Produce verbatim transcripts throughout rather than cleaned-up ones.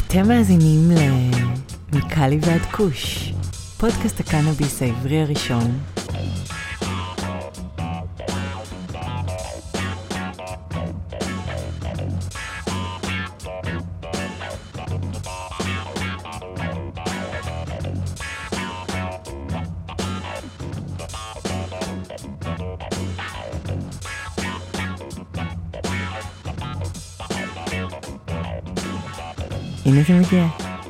אתם מאזינים למיקלי ועד כוש, פודקאסט הקנאביס העברי הראשון. הנה זה מגיע.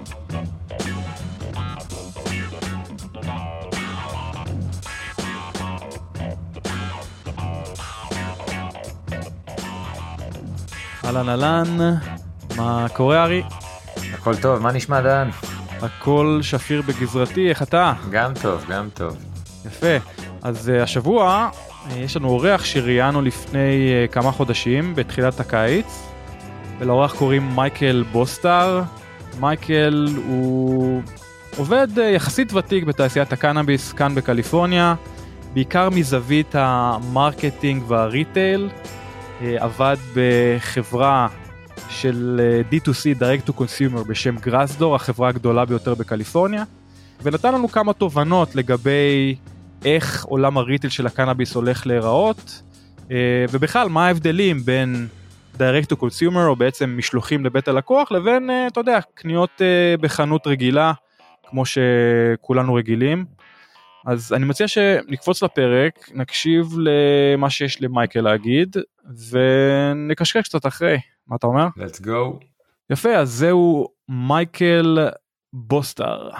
אהלן אהלן, מה קורה ארי? הכל טוב, מה נשמע דן? הכל שפיר בגזרתי, איך אתה? גם טוב, גם טוב. יפה, אז uh, השבוע uh, יש לנו אורח שראיינו לפני uh, כמה חודשים בתחילת הקיץ, ולאורח קוראים מייקל בוסטר. מייקל הוא עובד uh, יחסית ותיק בתעשיית הקנאביס כאן בקליפורניה, בעיקר מזווית המרקטינג והריטייל. עבד בחברה של די טו סי, Direct to Consumer, בשם גראסדור, החברה הגדולה ביותר בקליפורניה, ונתן לנו כמה תובנות לגבי איך עולם הריטייל של הקנאביס הולך להיראות, ובכלל מה ההבדלים בין Direct to Consumer, או בעצם משלוחים לבית הלקוח, לבין, אתה יודע, קניות בחנות רגילה, כמו שכולנו רגילים. אז אני מציע שנקפוץ לפרק, נקשיב למה שיש למייקל להגיד, ונקשקש קצת אחרי. מה אתה אומר? Let's go. יפה, אז זהו מייקל בוסטר.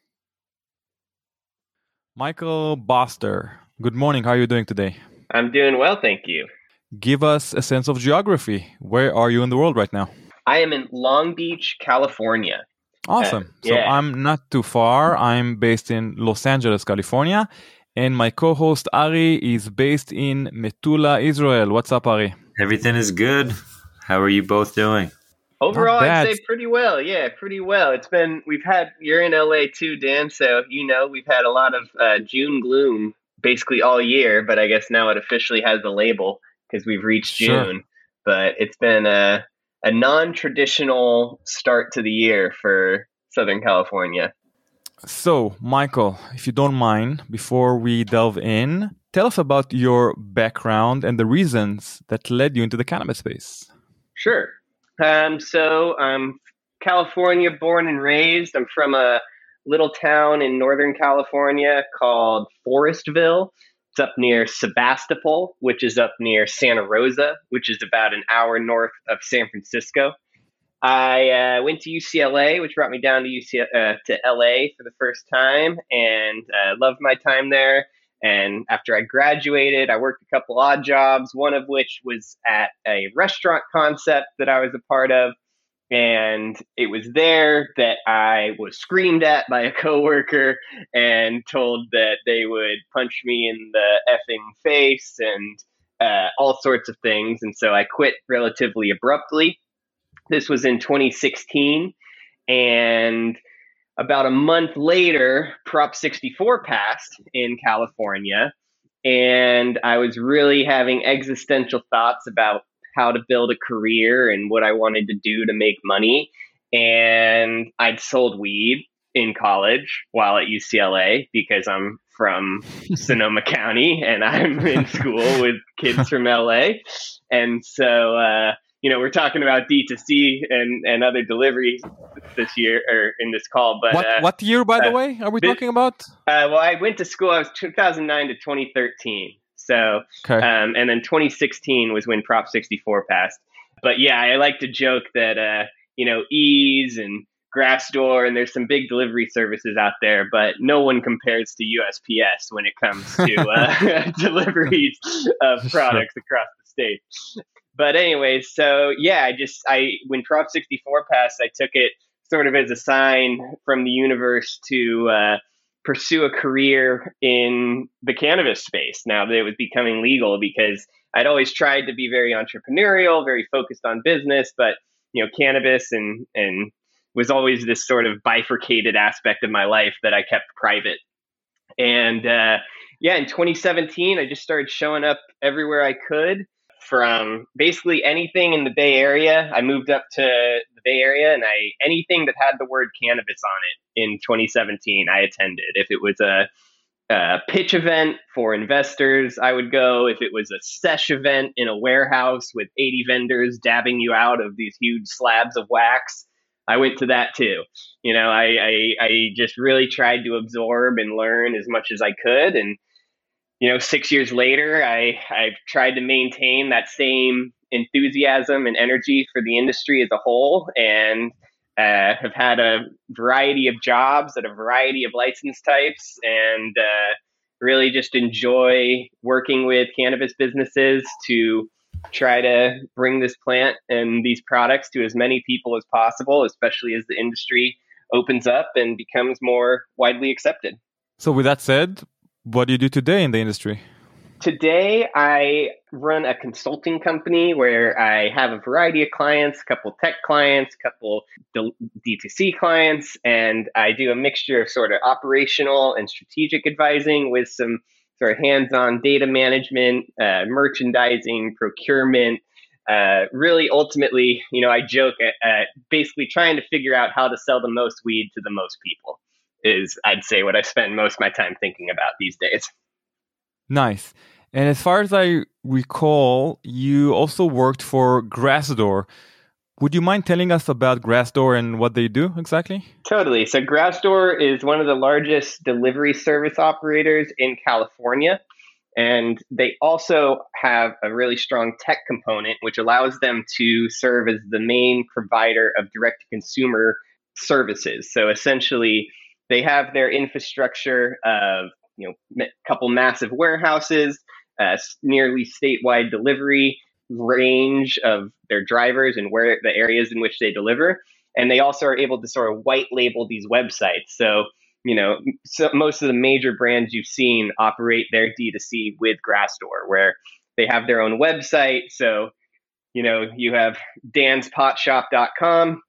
מייקל בוסטר, good morning, how are you doing today? I'm doing well, thank you. Give us a sense of geography. Where are you in the world right now? I am in Long Beach, California. Awesome. Uh, so yeah. I'm not too far. I'm based in Los Angeles, California. And my co-host Ari is based in Metula, Israel. What's up, Ari? Everything is good. How are you both doing? Overall, Not I'd bad. say pretty well. Yeah, pretty well. It's been, we've had, you're in L A too, Dan, so you know, we've had a lot of uh, June gloom basically all year, but I guess now it officially has the label because we've reached Sure. June. But it's been a, a non-traditional start to the year for Southern California. So, Michael, if you don't mind, before we delve in, tell us about your background and the reasons that led you into the cannabis space. Sure. Um, so I'm California born and raised. I'm from a little town in Northern California called Forestville. It's up near Sebastopol, which is up near Santa Rosa, which is about an hour north of San Francisco. I uh, went to U C L A, which brought me down to U C uh, to L A for the first time, and uh, loved my time there. And after I graduated, I worked a couple odd jobs, one of which was at a restaurant concept that I was a part of. And it was there that I was screamed at by a coworker and told that they would punch me in the effing face and uh, all sorts of things. And so I quit relatively abruptly. This was in twenty sixteen. And about a month later, Prop sixty-four passed in California, and I was really having existential thoughts about how to build a career and what I wanted to do to make money. And I'd sold weed in college while at U C L A because I'm from Sonoma County and I'm in school with kids from L A. And so, uh, you know, we're talking about D two C and, and other deliveries this year or in this call. But What uh, what year, by the uh, way, are we this- talking about? uh, well, I went to school. I was two thousand nine to twenty thirteen. So, Okay. um, and then twenty sixteen was when Prop sixty-four passed. But yeah, I like to joke that, uh, you know, Ease and Grassdoor, and there's some big delivery services out there, but no one compares to U S P S when it comes to uh, deliveries of products across the state. But anyways, so yeah, I just, I, when Prop sixty-four passed, I took it sort of as a sign from the universe to, uh, pursue a career in the cannabis space now that it was becoming legal, because I'd always tried to be very entrepreneurial, very focused on business, but, you know, cannabis and, and was always this sort of bifurcated aspect of my life that I kept private. And, uh, yeah, in twenty seventeen, I just started showing up everywhere I could, from basically anything in the Bay Area. I moved up to the Bay Area, and I anything that had the word cannabis on it in twenty seventeen, I attended. If it was a, a pitch event for investors, I would go. If it was a sesh event in a warehouse with eighty vendors dabbing you out of these huge slabs of wax, I went to that too. You know, I, I, I just really tried to absorb and learn as much as I could. And you know, six years later, I, I've tried to maintain that same enthusiasm and energy for the industry as a whole, and uh, have had a variety of jobs at a variety of license types, and uh, really just enjoy working with cannabis businesses to try to bring this plant and these products to as many people as possible, especially as the industry opens up and becomes more widely accepted. So with that said, what do you do today in the industry? Today, I run a consulting company where I have a variety of clients, a couple tech clients, a couple D two C clients, and I do a mixture of sort of operational and strategic advising with some sort of hands-on data management, uh, merchandising, procurement. Uh, really, ultimately, you know, I joke at, at basically trying to figure out how to sell the most weed to the most people is, I'd say, what I spend most of my time thinking about these days. Nice. And as far as I recall, you also worked for Grassdoor. Would you mind telling us about Grassdoor and what they do exactly? Totally. So Grassdoor is one of the largest delivery service operators in California. And they also have a really strong tech component, which allows them to serve as the main provider of direct-to-consumer services. So essentially, they have their infrastructure of, you know, a couple massive warehouses, uh, nearly statewide delivery range of their drivers and where the areas in which they deliver. And they also are able to sort of white label these websites. So, you know, so most of the major brands you've seen operate their D two C with Grassdoor, where they have their own website. So, you know, you have dans pot shop dot com,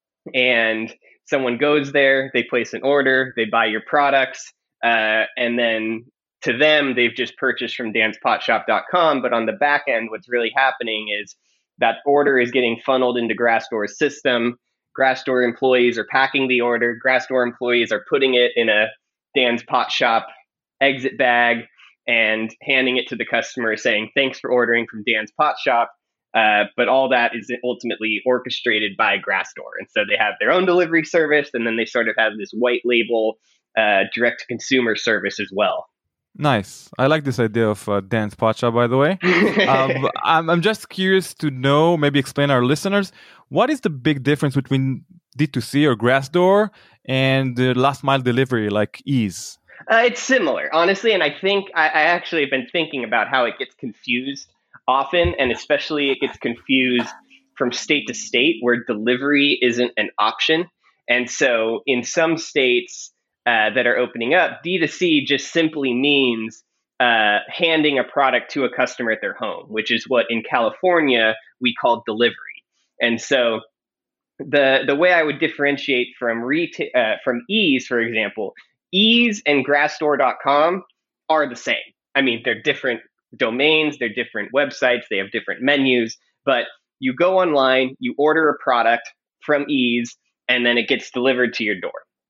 and someone goes there, they place an order, they buy your products, uh, and then to them, they've just purchased from dans pot shop dot com. But on the back end, what's really happening is that order is getting funneled into Grassdoor's system. Grassdoor employees are packing the order. Grassdoor employees are putting it in a Dan's Pot Shop exit bag and handing it to the customer saying, thanks for ordering from Dan's Pot Shop. Uh, but all that is ultimately orchestrated by Grassdoor. And so they have their own delivery service, and then they sort of have this white label uh, direct-to-consumer service as well. Nice. I like this idea of uh, Dan's Pot Shop, by the way. um, I'm, I'm just curious to know, maybe explain our listeners, what is the big difference between D two C or Grassdoor and the last mile delivery like Eaze? Uh, it's similar, honestly. And I think I, I actually have been thinking about how it gets confused often, and especially it gets confused from state to state where delivery isn't an option. And so in some states uh, that are opening up, D two C just simply means uh, handing a product to a customer at their home, which is what in California we call delivery. And so the the way I would differentiate from reta- uh, from Eaze, for example, Eaze and Grassdoor dot com are the same. I mean, they're different domains, they're different websites, they have different menus, but you go online, you order a product from Eaze, and then it gets delivered to your door.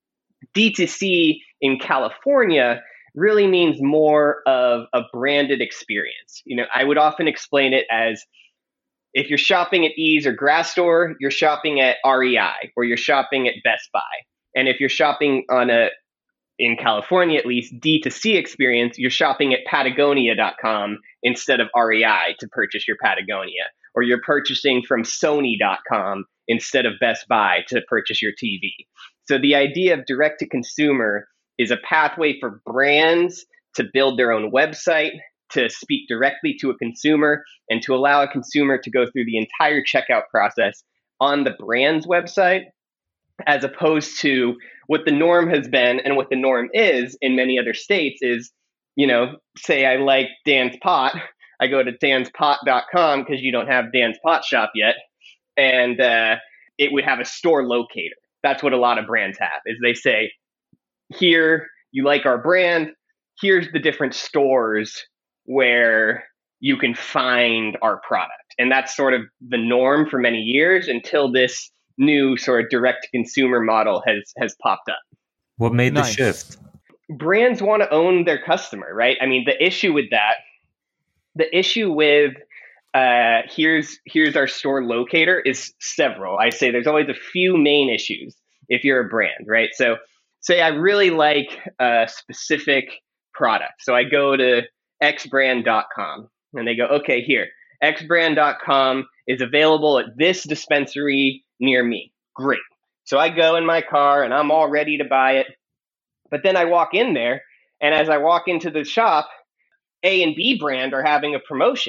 D two C in California really means more of a branded experience. You know, I would often explain it as if you're shopping at Eaze or Grassdoor, you're shopping at R E I or you're shopping at Best Buy. And if you're shopping on a, in California at least, D two C experience, you're shopping at Patagonia dot com instead of R E I to purchase your Patagonia. Or you're purchasing from Sony dot com instead of Best Buy to purchase your T V. So the idea of direct to consumer is a pathway for brands to build their own website, to speak directly to a consumer, and to allow a consumer to go through the entire checkout process on the brand's website, as opposed to what the norm has been and what the norm is in many other states is, you know, say I like Dan's Pot, I go to dans pot dot com because you don't have Dan's Pot Shop yet, and uh, it would have a store locator. That's what a lot of brands have, is they say, here, you like our brand, here's the different stores where you can find our product. And that's sort of the norm for many years until this new sort of direct to consumer model has has popped up. What made Nice. the shift? Brands want to own their customer, right? I mean, the issue with that, the issue with uh, here's here's our store locator is several. I say there's always a few main issues if you're a brand, right? So say I really like a specific product. So I go to x brand dot com and they go, okay, here, x brand dot com is available at this dispensary near me. Great. So I go in my car and I'm all ready to buy it. But then I walk in there, and as I walk into the shop, A and B brand are having a promotion.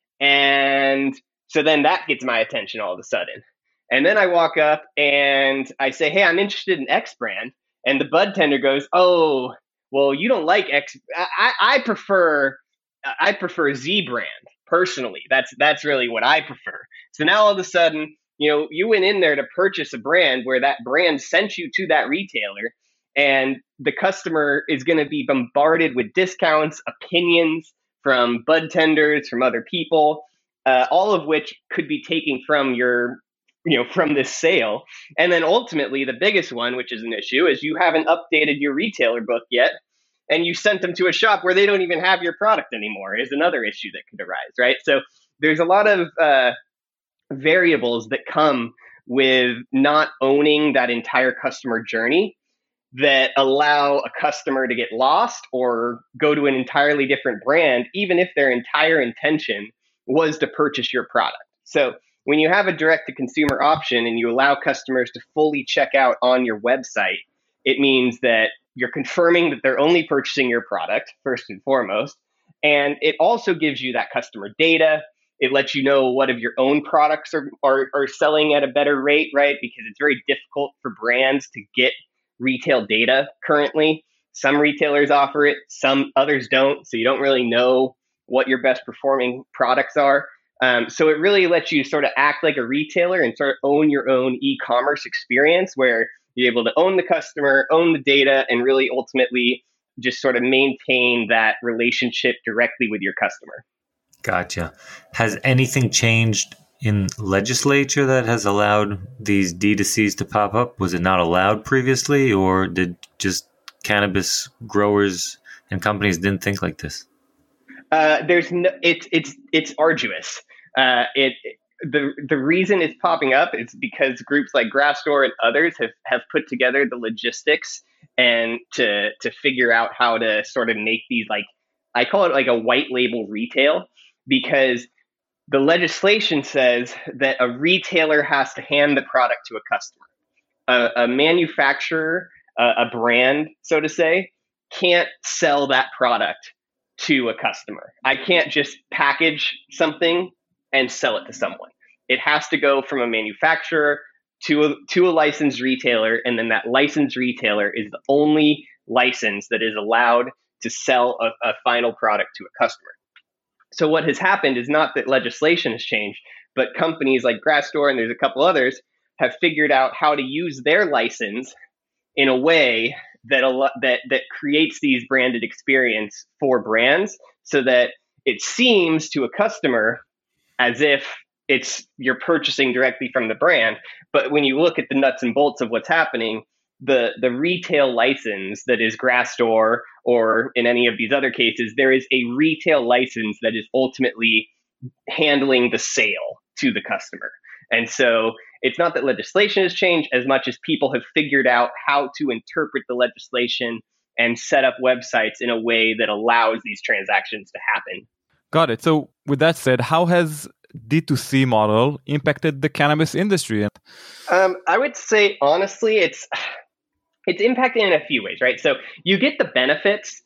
And so then that gets my attention all of a sudden. And then I walk up and I say, hey, I'm interested in X brand. And the bud tender goes, oh, well, you don't like X. I, I prefer I prefer Z brand personally. That's that's really what I prefer. So now all of a sudden, you know, you went in there to purchase a brand where that brand sent you to that retailer, and the customer is going to be bombarded with discounts, opinions from bud tenders, from other people, uh, all of which could be taken from your, you know, from this sale. And then ultimately, the biggest one, which is an issue, is you haven't updated your retailer book yet, and you sent them to a shop where they don't even have your product anymore, is another issue that could arise, right? So there's a lot of uh, variables that come with not owning that entire customer journey that allow a customer to get lost or go to an entirely different brand, even if their entire intention was to purchase your product. So when you have a direct-to-consumer option and you allow customers to fully check out on your website, it means that you're confirming that they're only purchasing your product, first and foremost. And it also gives you that customer data. It lets you know what of your own products are, are, are selling at a better rate, right? Because it's very difficult for brands to get retail data currently. Some retailers offer it, some others don't. So you don't really know what your best performing products are. Um, so it really lets you sort of act like a retailer and sort of own your own e-commerce experience where you're able to own the customer, own the data, and really ultimately just sort of maintain that relationship directly with your customer. Gotcha. Has anything changed in legislature that has allowed these D two Cs to pop up? Was it not allowed previously, or did just cannabis growers and companies didn't think like this? Uh, there's no, it's it's it's arduous. Uh, it the the reason it's popping up is because groups like Grassdoor and others have have put together the logistics and to to figure out how to sort of make these, like, I call it like a white label retail, because the legislation says that a retailer has to hand the product to a customer. A, a manufacturer, a, a brand, so to say, can't sell that product to a customer. I can't just package something and sell it to someone. It has to go from a manufacturer to a, to a licensed retailer, and then that licensed retailer is the only license that is allowed to sell a, a final product to a customer. So what has happened is not that legislation has changed, but companies like Grassdoor, and there's a couple others, have figured out how to use their license in a way that a that that creates these branded experience for brands, so that it seems to a customer as if it's you're purchasing directly from the brand. But when you look at the nuts and bolts of what's happening, the the retail license that is Grassdoor, or in any of these other cases, there is a retail license that is ultimately handling the sale to the customer. And so it's not that legislation has changed as much as people have figured out how to interpret the legislation and set up websites in a way that allows these transactions to happen. Got it. So with that said, how has D two C model impacted the cannabis industry? Um, I would say, honestly, it's it's impacted in a few ways, right? So you get the benefits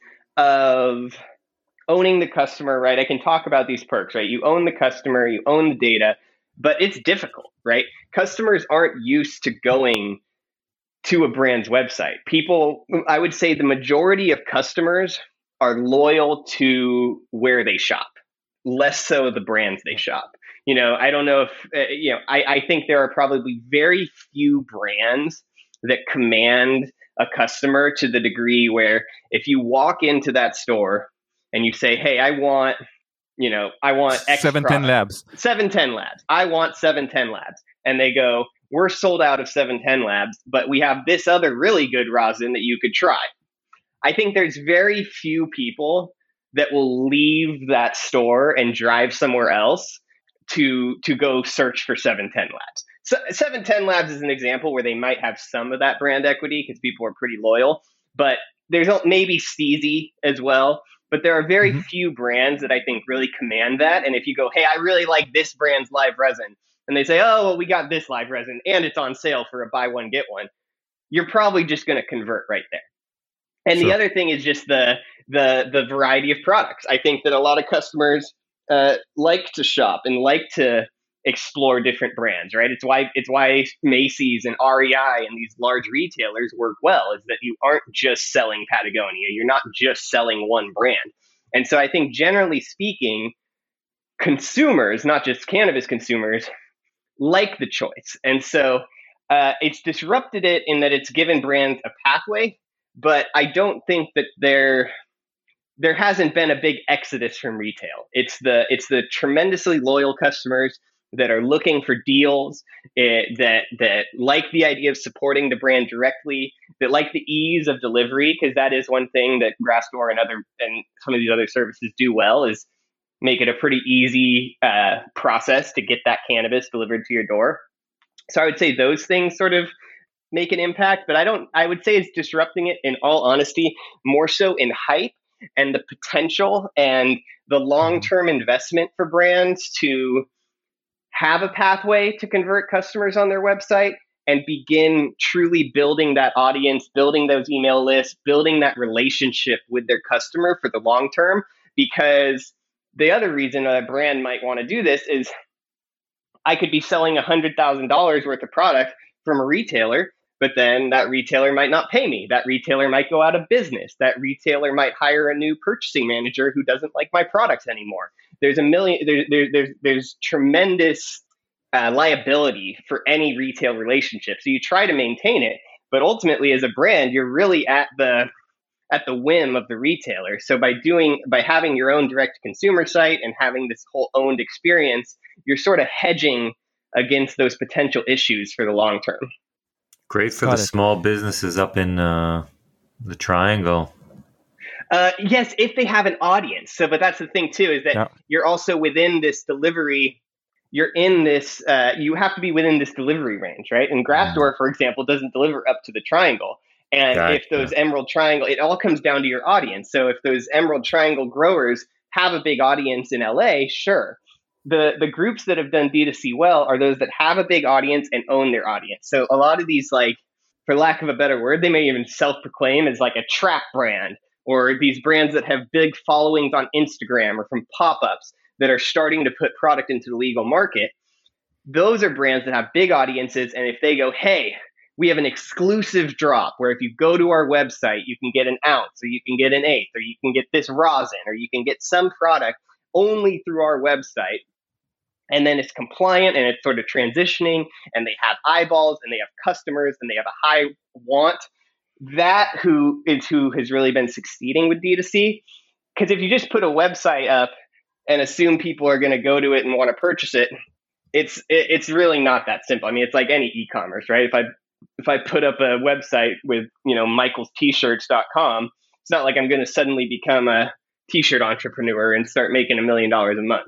of owning the customer, right? I can talk about these perks, right? You own the customer, you own the data, but it's difficult, right? Customers aren't used to going to a brand's website. People, I would say the majority of customers are loyal to where they shop, less so the brands they shop. You know, I don't know if, uh, you know, I, I think there are probably very few brands that command a customer to the degree where if you walk into that store and you say, hey, I want, you know, I want X seven ten product. Labs. seven ten Labs. I want seven ten Labs. And they go, we're sold out of seven ten Labs, but we have this other really good rosin that you could try. I think there's very few people that will leave that store and drive somewhere else to to go search for seven ten Labs. So seven ten Labs is an example where they might have some of that brand equity because people are pretty loyal, but there's maybe Steezy as well. But there are very mm-hmm. few brands that I think really command that. And if you go, hey, I really like this brand's live resin, and they say, oh, well, we got this live resin and it's on sale for a buy one, get one, you're probably just going to convert right there. And sure. The other thing is just the the the variety of products. I think that a lot of customers uh, like to shop and like to explore different brands, right? It's why it's why Macy's and R E I and these large retailers work well, is that you aren't just selling Patagonia. You're not just selling one brand. And so I think generally speaking, consumers, not just cannabis consumers, like the choice. And so uh, it's disrupted it in that it's given brands a pathway, but I don't think that there there hasn't been a big exodus from retail. It's the it's the tremendously loyal customers that are looking for deals, it, that that like the idea of supporting the brand directly, that like the ease of delivery, because that is one thing that Grassdoor and other and some of these other services do well, is make it a pretty easy uh, process to get that cannabis delivered to your door. So I would say those things sort of make an impact, but I don't. I would say it's disrupting it, in all honesty, more so in hype and the potential and the long-term investment for brands to have a pathway to convert customers on their website and begin truly building that audience, building those email lists, building that relationship with their customer for the long term. Because the other reason a brand might want to do this is I could be selling one hundred thousand dollars worth of product from a retailer, but then that retailer might not pay me. That retailer might go out of business. That retailer might hire a new purchasing manager who doesn't like my products anymore. There's a million, there, there, there's, there's tremendous uh, liability for any retail relationship. So you try to maintain it, but ultimately as a brand, you're really at the, at the whim of the retailer. So by doing, by having your own direct consumer site and having this whole owned experience, you're sort of hedging against those potential issues for the long term. Great for Got the it. small businesses up in uh, the Triangle. Uh, yes, if they have an audience. So, but that's the thing too, is that Yeah. you're also within this delivery. You're in this. Uh, you have to be within this delivery range, right? And Grassdoor, for example, doesn't deliver up to the Triangle. And Gotcha. if those Emerald Triangle, it all comes down to your audience. So, if those Emerald Triangle growers have a big audience in L A, sure. The the groups that have done D two C well are those that have a big audience and own their audience. So a lot of these, like, for lack of a better word, they may even self-proclaim as like a trap brand, or these brands that have big followings on Instagram or from pop-ups that are starting to put product into the legal market. Those are brands that have big audiences. And if they go, hey, we have an exclusive drop where if you go to our website, you can get an ounce, or you can get an eighth, or you can get this rosin, or you can get some product only through our website. And then it's compliant and it's sort of transitioning, and they have eyeballs and they have customers and they have a high want. That who is who has really been succeeding with D two C. Because if you just put a website up and assume people are going to go to it and want to purchase it, it's it, it's really not that simple. I mean, it's like any e-commerce, right? If I if I put up a website with, you know, michaels t shirts dot com, it's not like I'm going to suddenly become a t-shirt entrepreneur and start making a million dollars a month.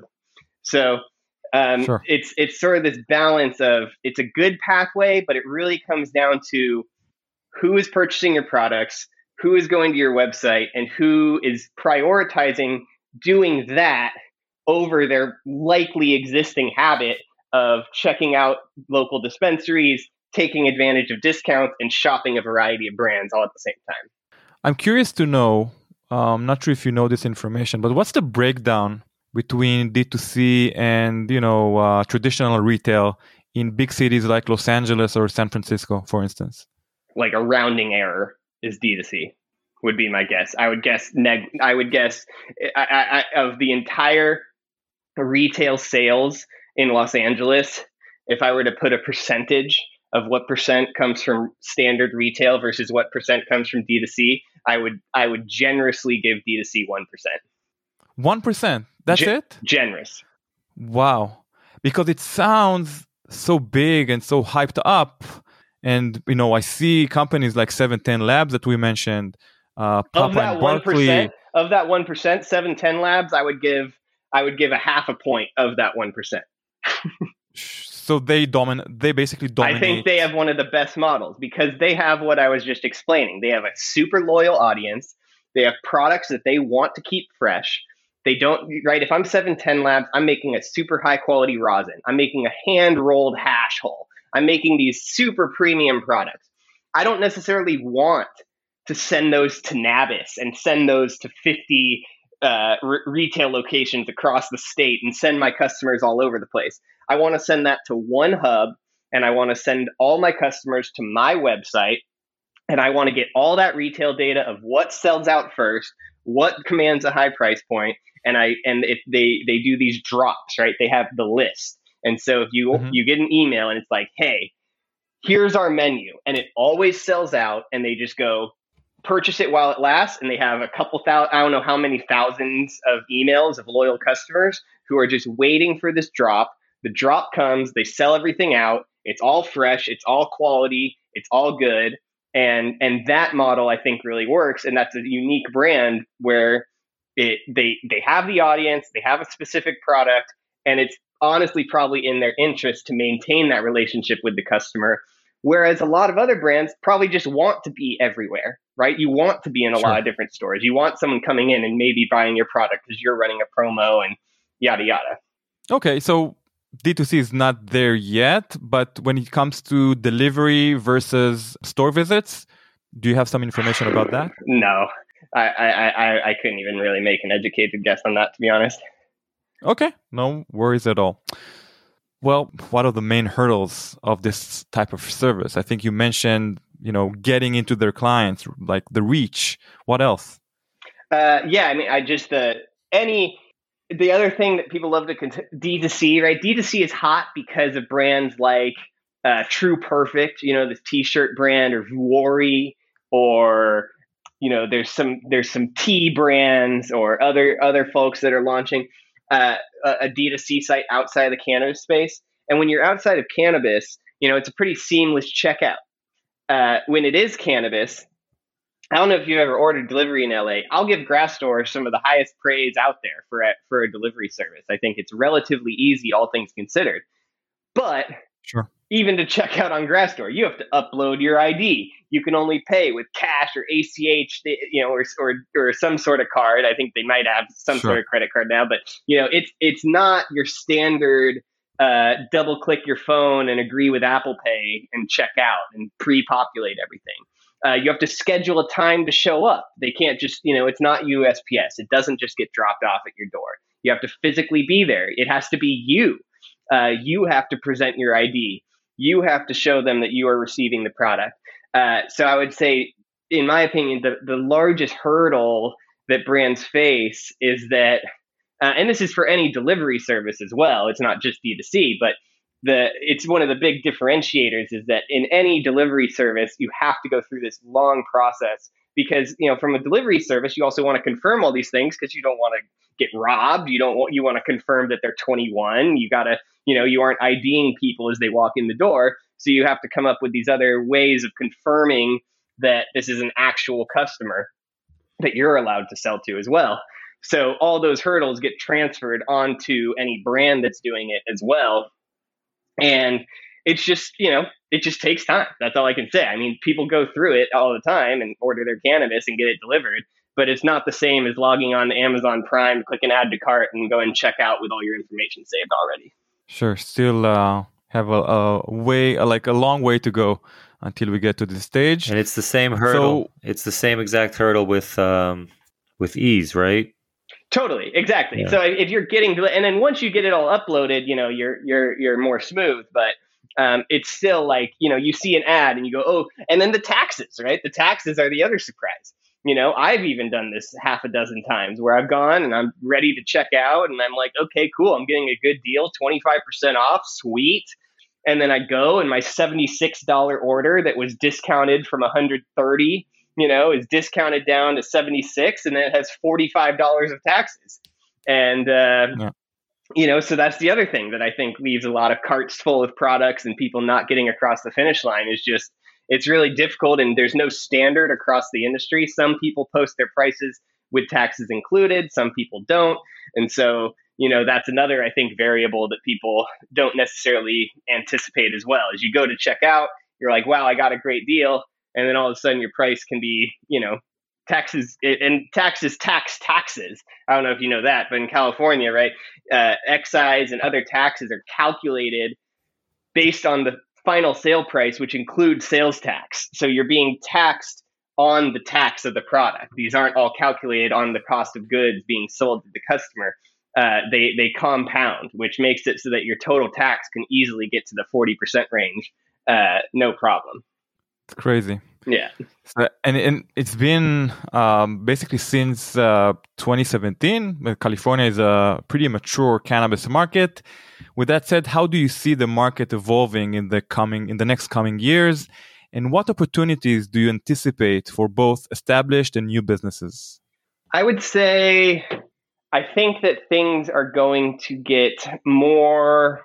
So Um, Sure. it's it's sort of this balance of, it's a good pathway, but it really comes down to who is purchasing your products, who is going to your website, and who is prioritizing doing that over their likely existing habit of checking out local dispensaries, taking advantage of discounts, and shopping a variety of brands all at the same time. I'm curious to know, I'm um, not sure if you know this information, but what's the breakdown between D two C and, you know, uh, traditional retail in big cities like Los Angeles or San Francisco, for instance? Like a rounding error is D two C would be my guess. I would guess neg- I would guess I, I, I, of the entire retail sales in Los Angeles, if I were to put a percentage of what percent comes from standard retail versus what percent comes from D two C, I would I would generously give D two C one percent. one percent. That's Ge- it? Generous. Wow. Because it sounds so big and so hyped up. And, you know, I see companies like seven ten Labs that we mentioned, uh, Papa Of that and one Barkley. percent, of that one percent, seven ten Labs, I would give, I would give a half a point of that one percent. So they dominate. They basically dominate. I think they have one of the best models because they have what I was just explaining. They have a super loyal audience. They have products that they want to keep fresh. They don't, right? If I'm seven ten Labs, I'm making a super high quality rosin. I'm making a hand rolled hash hull. I'm making these super premium products. I don't necessarily want to send those to Nabis and send those to fifty uh, re- retail locations across the state and send my customers all over the place. I want to send that to one hub, and I want to send all my customers to my website, and I want to get all that retail data of what sells out first, what commands a high price point, and I and if they they do these drops, right? They have the list, and so if you mm-hmm. you get an email and it's like, hey, here's our menu, and it always sells out, and they just go purchase it while it lasts, and they have a couple thousand, I don't know how many thousands of emails of loyal customers who are just waiting for this drop. The drop comes, they sell everything out. It's all fresh. It's all quality. It's all good. And and that model, I think, really works. And that's a unique brand where it they they have the audience, they have a specific product, and it's honestly probably in their interest to maintain that relationship with the customer. Whereas a lot of other brands probably just want to be everywhere, right? You want to be in a sure. lot of different stores. You want someone coming in and maybe buying your product because you're running a promo and yada, yada. Okay, so D two C is not there yet, but when it comes to delivery versus store visits, do you have some information about that? No, I, I, I, I couldn't even really make an educated guess on that, to be honest. Okay, no worries at all. Well, what are the main hurdles of this type of service? I think you mentioned, you know, getting into their clients, like the reach. What else? Uh, yeah, I mean, I just, uh, any... The other thing that people love to cont- D two C, right? D two C is hot because of brands like uh, True Perfect, you know, this T-shirt brand, or Vuori, or you know, there's some there's some tea brands or other other folks that are launching uh, a, a D two C site outside of the cannabis space. And when you're outside of cannabis, you know, it's a pretty seamless checkout. Uh, when it is cannabis, I don't know if you've ever ordered delivery in L A. I'll give Grassdoor some of the highest praise out there for a, for a delivery service. I think it's relatively easy, all things considered. But sure. Even to check out on Grassdoor, you have to upload your I D. You can only pay with cash or A C H, you know, or or, or some sort of card. I think they might have some sure. sort of credit card now, but you know, it's it's not your standard. Uh, double click your phone and agree with Apple Pay and check out and pre-populate everything. Uh, you have to schedule a time to show up. They can't just, you know, it's not U S P S. It doesn't just get dropped off at your door. You have to physically be there. It has to be you. Uh, you have to present your I D. You have to show them that you are receiving the product. Uh, so I would say, in my opinion, the, the largest hurdle that brands face is that, uh, and this is for any delivery service as well. It's not just D two C, but The, it's one of the big differentiators is that in any delivery service, you have to go through this long process because, you know, from a delivery service, you also want to confirm all these things because you don't want to get robbed. You don't want, you want to confirm that they're twenty-one. You got to, you know, you aren't IDing people as they walk in the door. So you have to come up with these other ways of confirming that this is an actual customer that you're allowed to sell to as well. So all those hurdles get transferred onto any brand that's doing it as well. And it's just, you know, it just takes time. That's all I can say. I mean, people go through it all the time and order their cannabis and get it delivered, but it's not the same as logging on to Amazon Prime, click an add to cart and go and check out with all your information saved already. Sure. Still uh, have a, a way, like a long way to go until we get to this stage. And it's the same hurdle. So, it's the same exact hurdle with, um, with ease, right? Totally, exactly. Yeah. So if you're getting, and then once you get it all uploaded, you know, you're you're you're more smooth. But um, it's still like, you know, you see an ad and you go, oh, and then the taxes, right? The taxes are the other surprise. You know, I've even done this half a dozen times where I've gone and I'm ready to check out, and I'm like, okay, cool, I'm getting a good deal, twenty-five percent off, sweet. And then I go and my seventy-six dollars order that was discounted from one hundred thirty dollars, you know, is discounted down to seventy-six, and then it has forty-five dollars of taxes. And, uh, Yeah. you know, so that's the other thing that I think leaves a lot of carts full of products and people not getting across the finish line is just, it's really difficult, and there's no standard across the industry. Some people post their prices with taxes included, some people don't. And so, you know, that's another, I think, variable that people don't necessarily anticipate as well. As you go to check out, you're like, wow, I got a great deal. And then all of a sudden your price can be, you know, taxes, and taxes, tax taxes. I don't know if you know that, but in California, right, uh, excise and other taxes are calculated based on the final sale price, which includes sales tax. So you're being taxed on the tax of the product. These aren't all calculated on the cost of goods being sold to the customer. Uh, they they compound, which makes it so that your total tax can easily get to the forty percent range, uh, no problem. It's crazy. Yeah. So, and, and it's been um, basically since uh, twenty seventeen. California is a pretty mature cannabis market. With that said, how do you see the market evolving in the coming in the next coming years, and what opportunities do you anticipate for both established and new businesses? I would say I think that things are going to get more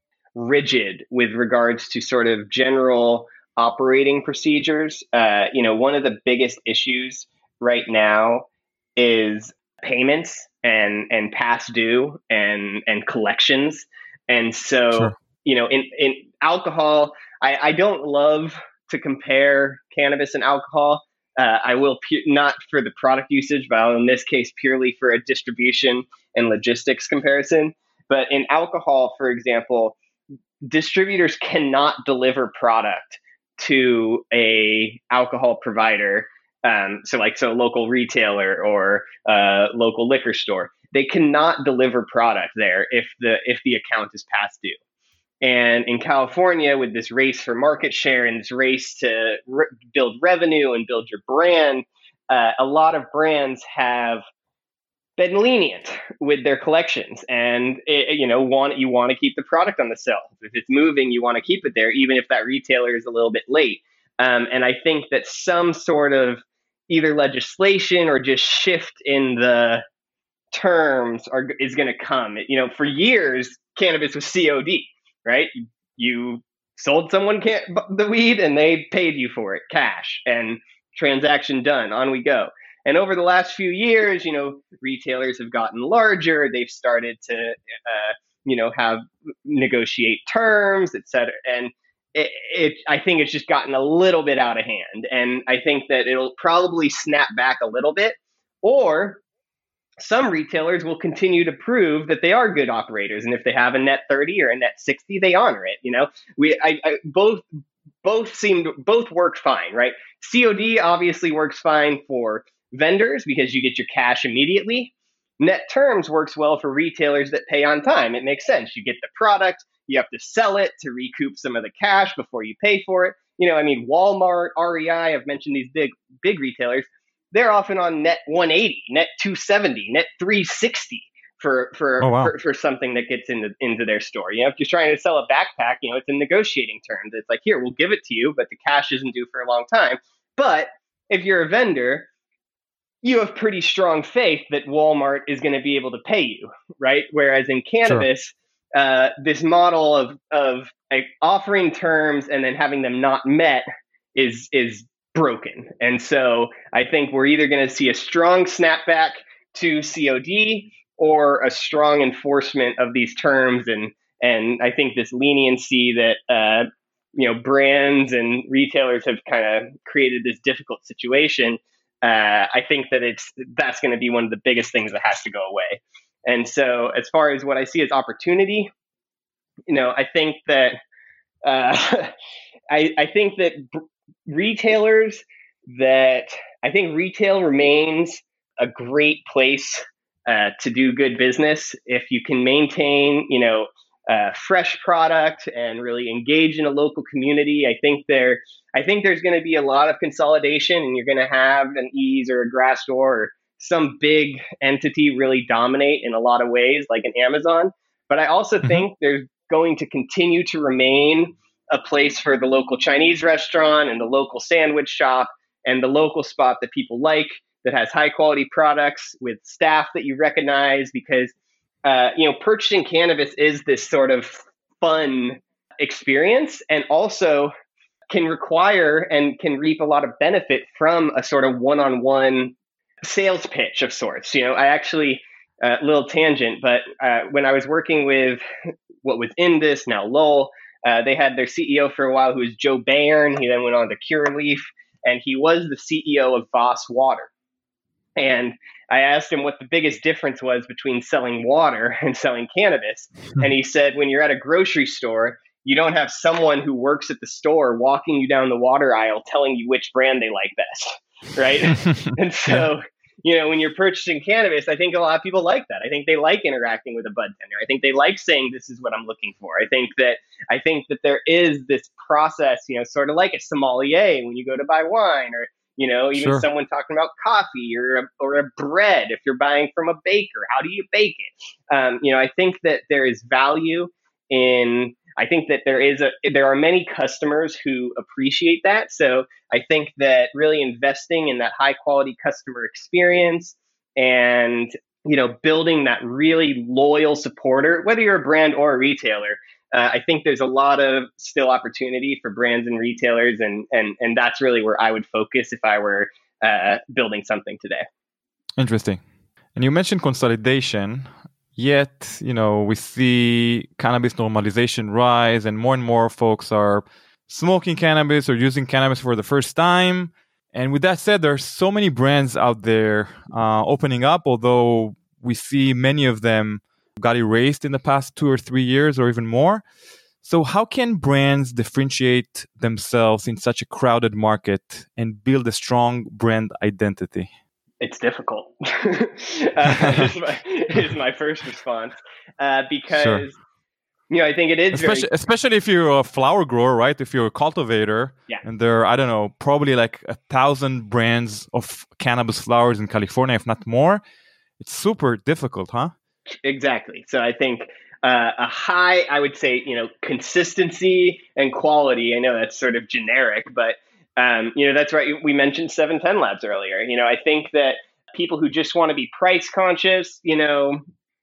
rigid with regards to sort of general operating procedures. Uh, you know, one of the biggest issues right now is payments and and past due and and collections. And so, Sure. you know, in in alcohol, I, I don't love to compare cannabis and alcohol. Uh, I will pu- not for the product usage, but in this case purely for a distribution and logistics comparison. But in alcohol, for example, distributors cannot deliver product to a alcohol provider, um, so like so local retailer or uh, local liquor store. They cannot deliver product there if the if the account is past due. And in California, with this race for market share and this race to re- build revenue and build your brand, uh, a lot of brands have been lenient with their collections, and it, you know, want you want to keep the product on the shelf. If it's moving, you want to keep it there, even if that retailer is a little bit late. Um, and I think that some sort of either legislation or just shift in the terms are is going to come. You know, for years, cannabis was C O D, right? You sold someone can- the weed, and they paid you for it, cash, and transaction done. On we go. And over the last few years, you know, retailers have gotten larger. They've started to, uh, you know, have negotiate terms, et cetera. And it, it, I think it's just gotten a little bit out of hand. And I think that it'll probably snap back a little bit, or some retailers will continue to prove that they are good operators. And if they have a net thirty or a net sixty, they honor it. You know, we, I, I both, both seem to, both work fine, right? C O D obviously works fine for vendors because you get your cash immediately. Net terms works well for retailers that pay on time. It makes sense. You get the product, you have to sell it to recoup some of the cash before you pay for it. You know, I mean, Walmart, R E I, I've mentioned these big, big retailers. They're often on net one eighty, net two seventy, net three sixty for for, Oh, wow. for for something that gets into into their store. You know, if you're trying to sell a backpack, you know, it's a negotiating terms. It's like, here, we'll give it to you, but the cash isn't due for a long time. But if you're a vendor, you have pretty strong faith that Walmart is going to be able to pay you, right? Whereas in cannabis, sure. uh, this model of of like, offering terms and then having them not met is is broken. And so I think we're either going to see a strong snapback to C O D or a strong enforcement of these terms. And and I think this leniency that uh, you know brands and retailers have kind of created this difficult situation. Uh, I think that it's that's going to be one of the biggest things that has to go away. And so, as far as what I see as opportunity, you know, I think that uh, I, I think that b- retailers that I think retail remains a great place uh, to do good business if you can maintain, you know, uh, fresh product and really engage in a local community. I think there. I think there's going to be a lot of consolidation, and you're going to have an Ease or a Grassdoor or some big entity really dominate in a lot of ways, like an Amazon. But I also mm-hmm. think there's going to continue to remain a place for the local Chinese restaurant and the local sandwich shop and the local spot that people like that has high quality products with staff that you recognize, because uh, you know, purchasing cannabis is this sort of fun experience, and also can require and can reap a lot of benefit from a sort of one-on-one sales pitch of sorts. You know, I actually, a uh, little tangent, but uh, when I was working with what was Indus, now Lowell, uh, they had their C E O for a while who was Joe Bayern. He then went on to Curaleaf, and he was the C E O of Voss Water. And I asked him what the biggest difference was between selling water and selling cannabis. And he said, when you're at a grocery store, you don't have someone who works at the store walking you down the water aisle telling you which brand they like best, right? And so, you know, when you're purchasing cannabis, I think a lot of people like that. I think they like interacting with a bud tender. I think they like saying, this is what I'm looking for. I think that I think that there is this process, you know, sort of like a sommelier when you go to buy wine, or, you know, even Sure. someone talking about coffee or a, or a bread. If you're buying from a baker, how do you bake it? Um, you know, I think that there is value in I think that there is a there are many customers who appreciate that. So I think that really investing in that high quality customer experience and, you know, building that really loyal supporter, whether you're a brand or a retailer, uh, I think there's a lot of still opportunity for brands and retailers, and and and that's really where I would focus if I were uh, building something today. Interesting. And you mentioned consolidation. Yet, you know, we see cannabis normalization rise, and more and more folks are smoking cannabis or using cannabis for the first time. And with that said, there are so many brands out there uh, opening up, although we see many of them got erased in the past two or three years or even more. So how can brands differentiate themselves in such a crowded market and build a strong brand identity? It's difficult, uh, is, my, is my first response, uh, because, sure. you know, I think it is especially, very... especially if you're a flower grower, right? If you're a cultivator, yeah. and there are, I don't know, probably like a thousand brands of cannabis flowers in California, if not more. It's super difficult, huh? Exactly. So I think uh, a high, I would say, you know, consistency and quality. I know that's sort of generic, but Um, you know, that's right. We mentioned seven ten Labs earlier. You know, I think that people who just want to be price conscious, you know,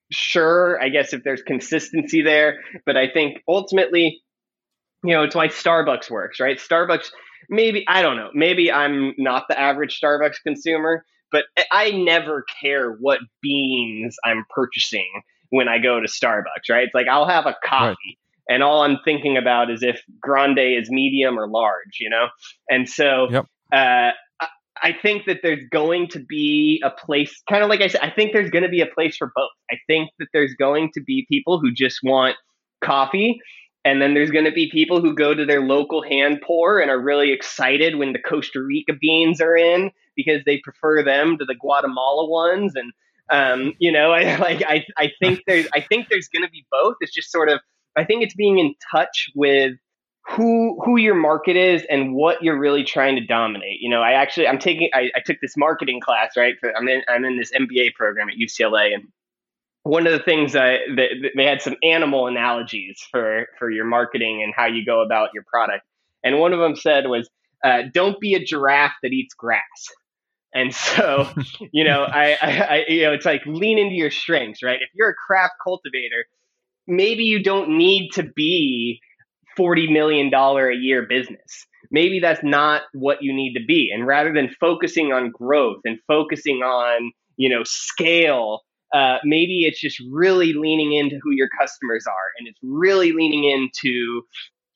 sure, I guess if there's consistency there, but I think ultimately, you know, it's why Starbucks works, right? Starbucks, maybe, I don't know, maybe I'm not the average Starbucks consumer, but I never care what beans I'm purchasing when I go to Starbucks, right? It's like, I'll have a coffee. Right. And all I'm thinking about is if grande is medium or large, you know? And so yep. uh, I think that there's going to be a place, kind of like I said, I think there's going to be a place for both. I think that there's going to be people who just want coffee. And then there's going to be people who go to their local hand pour and are really excited when the Costa Rica beans are in because they prefer them to the Guatemala ones. And, um, you know, I like, I, I think there's, I think there's going to be both. It's just sort of, I think it's being in touch with who who your market is and what you're really trying to dominate. You know, I actually I'm taking I, I took this marketing class, right? For, I'm in I'm in this M B A program at U C L A, and one of the things I that, they had some animal analogies for for your marketing and how you go about your product. And one of them said was, uh, "Don't be a giraffe that eats grass." And so, you know, I, I, I you know, it's like lean into your strengths, right? If you're a craft cultivator, maybe you don't need to be forty million dollars a year business. Maybe that's not what you need to be. And rather than focusing on growth and focusing on, you know, scale, uh, maybe it's just really leaning into who your customers are. And it's really leaning into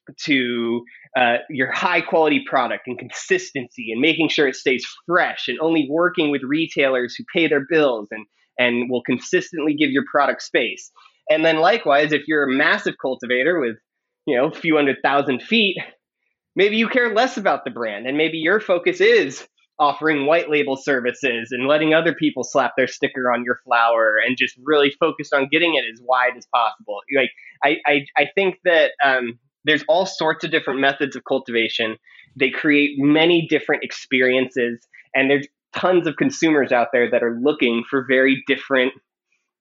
to uh, your high quality product and consistency and making sure it stays fresh and only working with retailers who pay their bills and, and will consistently give your product space. And then likewise, if you're a massive cultivator with, you know, a few hundred thousand feet, maybe you care less about the brand. And maybe your focus is offering white label services and letting other people slap their sticker on your flower and just really focused on getting it as wide as possible. Like, I, I, I think that um, there's all sorts of different methods of cultivation. They create many different experiences. And there's tons of consumers out there that are looking for very different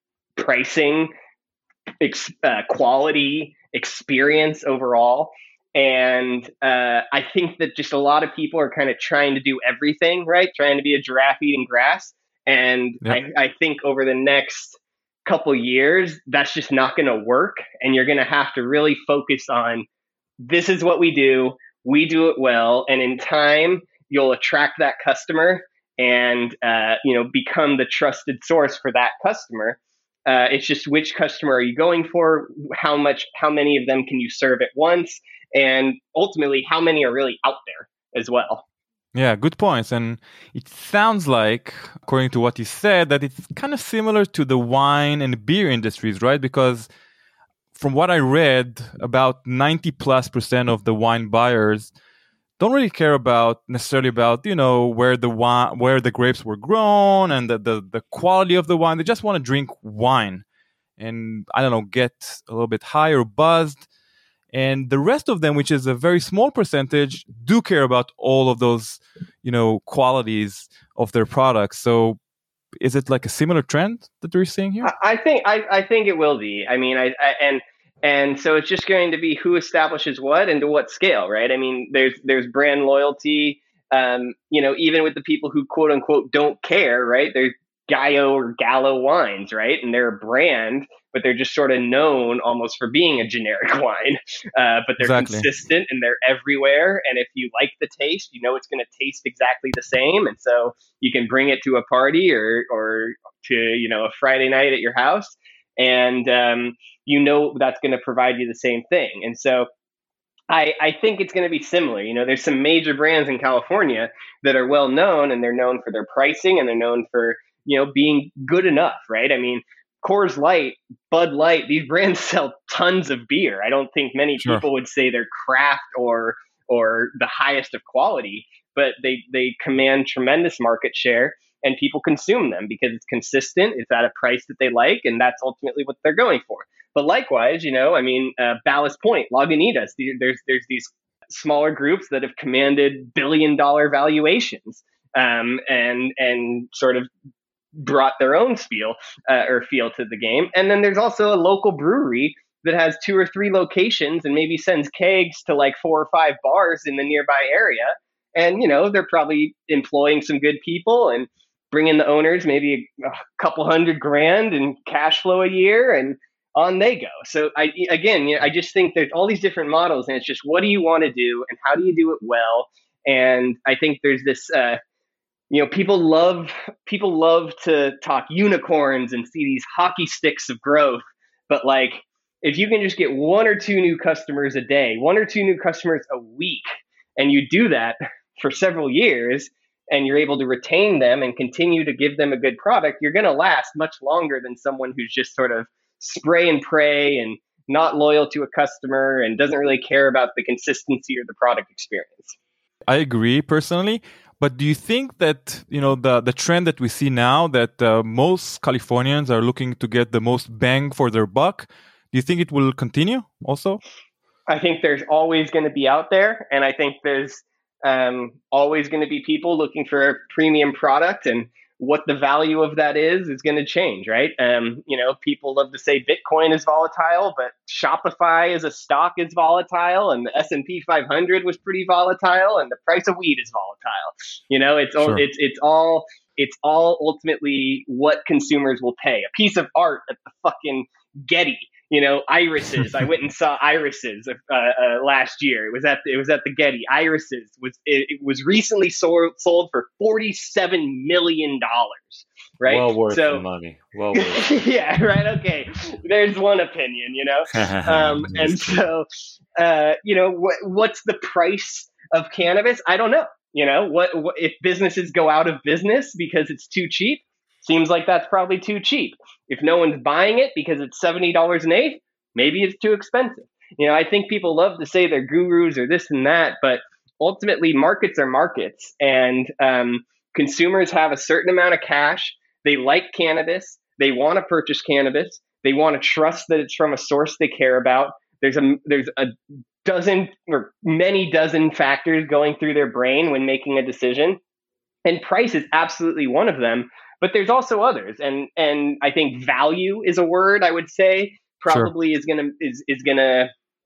pricing, Ex- uh, quality, experience overall. And uh, I think that just a lot of people are kind of trying to do everything, right? Trying to be a giraffe eating grass. And Yep. I, I think over the next couple years, that's just not going to work. And you're going to have to really focus on, this is what we do. We do it well. And in time, you'll attract that customer and, uh, you know, become the trusted source for that customer. Uh, it's just, which customer are you going for? How much, how many of them can you serve at once? And ultimately, how many are really out there as well? Yeah, good points. And it sounds like, according to what you said, that it's kind of similar to the wine and beer industries, right? Because from what I read, about ninety plus percent of the wine buyers don't really care about necessarily about, you know, where the wine, where the grapes were grown and the, the, the quality of the wine. They just want to drink wine and, I don't know, get a little bit higher buzzed. And the rest of them, which is a very small percentage, do care about all of those, you know, qualities of their products. So is it like a similar trend that we're seeing here? I, I think I, I think it will be. I mean, I, I and and so it's just going to be who establishes what and to what scale, right? I mean, there's there's brand loyalty. Um, you know, even with the people who quote unquote don't care, right? There's Gallo or Gallo wines, right? And they're a brand, but they're just sort of known almost for being a generic wine. Uh, but they're Exactly. consistent and they're everywhere. And if you like the taste, you know it's going to taste exactly the same. And so you can bring it to a party or or to, you know, a Friday night at your house, and um, you know that's going to provide you the same thing. And so I, I think it's going to be similar. You know, there's some major brands in California that are well known, and they're known for their pricing, and they're known for, you know, being good enough, right? I mean, Coors Light, Bud Light, these brands sell tons of beer. I don't think many Sure. people would say they're craft or or the highest of quality, but they they command tremendous market share, and people consume them because it's consistent, it's at a price that they like, and that's ultimately what they're going for. But likewise, you know, I mean, uh, Ballast Point, Lagunitas, there's there's these smaller groups that have commanded billion dollar valuations, um, and and sort of brought their own spiel uh, or feel to the game. And then there's also a local brewery that has two or three locations and maybe sends kegs to like four or five bars in the nearby area. And, you know, they're probably employing some good people and bringing the owners maybe a, a couple hundred grand in cash flow a year, and on they go. So I, again, you know, I just think there's all these different models, and it's just, what do you want to do and how do you do it well? And I think there's this, uh, you know, people love people love to talk unicorns and see these hockey sticks of growth. But like, if you can just get one or two new customers a day, one or two new customers a week, and you do that for several years, and you're able to retain them and continue to give them a good product, you're going to last much longer than someone who's just sort of spray and pray and not loyal to a customer and doesn't really care about the consistency or the product experience. I agree personally. But do you think that, you know, the, the trend that we see now, that uh, most Californians are looking to get the most bang for their buck, do you think it will continue also? I think there's always going to be out there. And I think there's um, always going to be people looking for a premium product. And what the value of that is, is going to change, right? Um, you know, people love to say Bitcoin is volatile, but Shopify as a stock is volatile, and the S and P five hundred was pretty volatile, and the price of weed is volatile. You know, it's all, Sure. it's it's all it's all ultimately what consumers will pay. A piece of art at the fucking Getty. You know, irises. I went and saw irises uh, uh, last year. It was at the, it was at the Getty. Irises was it, it was recently sold sold for forty seven million dollars. Right. Well worth so, the money. Well worth. yeah. Right. Okay. There's one opinion. You know. Um, and so, uh, you know, what what's the price of cannabis? I don't know. You know, what, what if businesses go out of business because it's too cheap? Seems like that's probably too cheap. If no one's buying it because it's seventy dollars an eighth, maybe it's too expensive. You know, I think people love to say they're gurus or this and that, but ultimately markets are markets, and um, consumers have a certain amount of cash. They like cannabis. They want to purchase cannabis. They want to trust that it's from a source they care about. There's a there's a dozen or many dozen factors going through their brain when making a decision, and price is absolutely one of them. But there's also others, and and I think value is a word I would say probably sure. is gonna is is gonna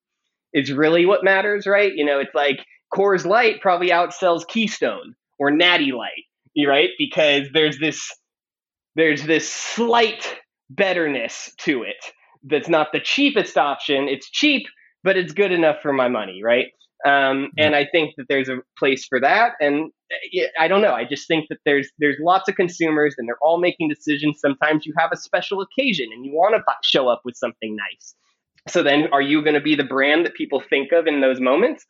is really what matters, right? You know, it's like Coors Light probably outsells Keystone or Natty Light, right? Because there's this there's this slight betterness to it that's not the cheapest option. It's cheap, but it's good enough for my money, right? Um, and I think that there's a place for that. And I don't know. I just think that there's there's lots of consumers, and they're all making decisions. Sometimes you have a special occasion and you want to show up with something nice. So then, are you going to be the brand that people think of in those moments?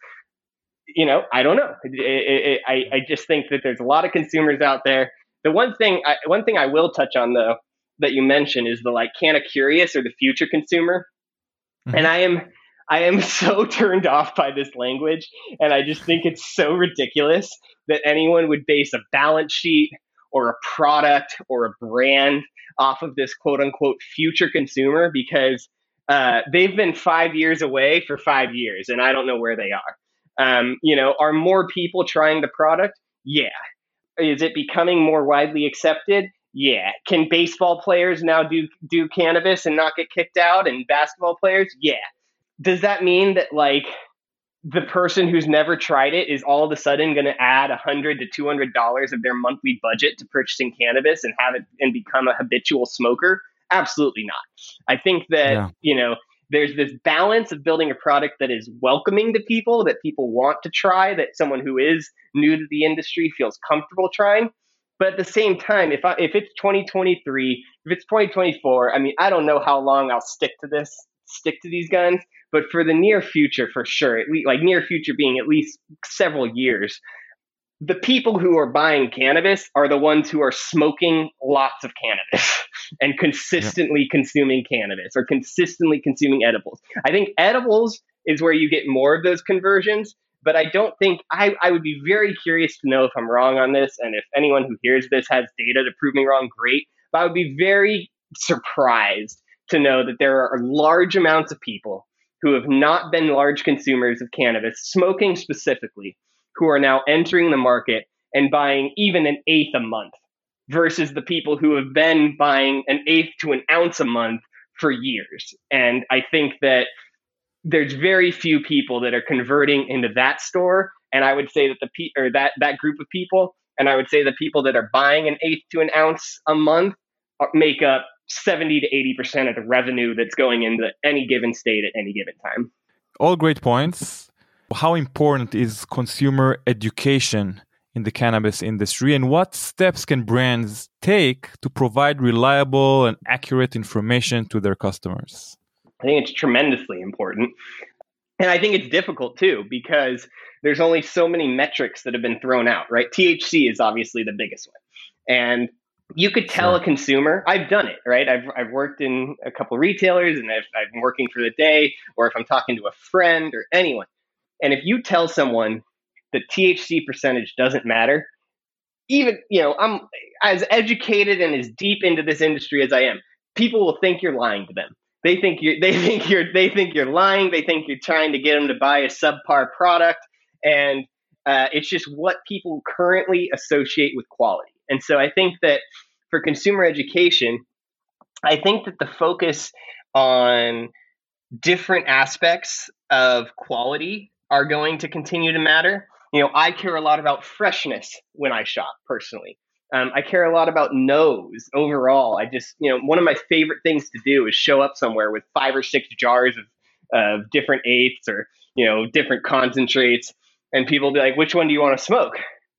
You know, I don't know. It, it, it, I I just think that there's a lot of consumers out there. The one thing I, one thing I will touch on though that you mentioned is the like kind of curious or the future consumer, mm-hmm. and I am. I am so turned off by this language, and I just think it's so ridiculous that anyone would base a balance sheet or a product or a brand off of this quote unquote future consumer, because uh, they've been five years away for five years and I don't know where they are. Um, you know, are more people trying the product? Yeah. Is it becoming more widely accepted? Yeah. Can baseball players now do, do cannabis and not get kicked out, and basketball players? Yeah. Does that mean that like the person who's never tried it is all of a sudden going to add a hundred to two hundred dollars of their monthly budget to purchasing cannabis and have it and become a habitual smoker? Absolutely not. I think that yeah. you know there's this balance of building a product that is welcoming to people, that people want to try, that someone who is new to the industry feels comfortable trying. But at the same time, if I, if it's twenty twenty-three, if it's twenty twenty-four, I mean, I don't know how long I'll stick to this, stick to these guns. But for the near future, for sure, at least, like near future being at least several years, the people who are buying cannabis are the ones who are smoking lots of cannabis and consistently yeah. consuming cannabis or consistently consuming edibles. I think edibles is where you get more of those conversions, but I don't think I, I would be very curious to know if I'm wrong on this. And if anyone who hears this has data to prove me wrong, great. But I would be very surprised to know that there are large amounts of people who have not been large consumers of cannabis, smoking specifically, who are now entering the market and buying even an eighth a month versus the people who have been buying an eighth to an ounce a month for years. And I think that there's very few people that are converting into that store. And I would say that the pe- or that, that group of people, and I would say the people that are buying an eighth to an ounce a month make up seventy to eighty percent of the revenue that's going into any given state at any given time. All great points. How important is consumer education in the cannabis industry, and what steps can brands take to provide reliable and accurate information to their customers? I think it's tremendously important. And I think it's difficult too, because there's only so many metrics that have been thrown out, right? T H C is obviously the biggest one. And you could tell sure. a consumer, I've done it, right? I've I've worked in a couple of retailers, and I've, I've been working for the day, or if I'm talking to a friend or anyone. And if you tell someone that T H C percentage doesn't matter, even, you know, I'm as educated and as deep into this industry as I am, people will think you're lying to them. They think you're, they think you're, they think you're lying. They think you're trying to get them to buy a subpar product. And uh, it's just what people currently associate with quality. And so I think that for consumer education, I think that the focus on different aspects of quality are going to continue to matter. You know, I care a lot about freshness when I shop personally. Um, I care a lot about nose overall. I just, you know, one of my favorite things to do is show up somewhere with five or six jars of, of different eighths or, you know, different concentrates. And people will be like, which one do you want to smoke?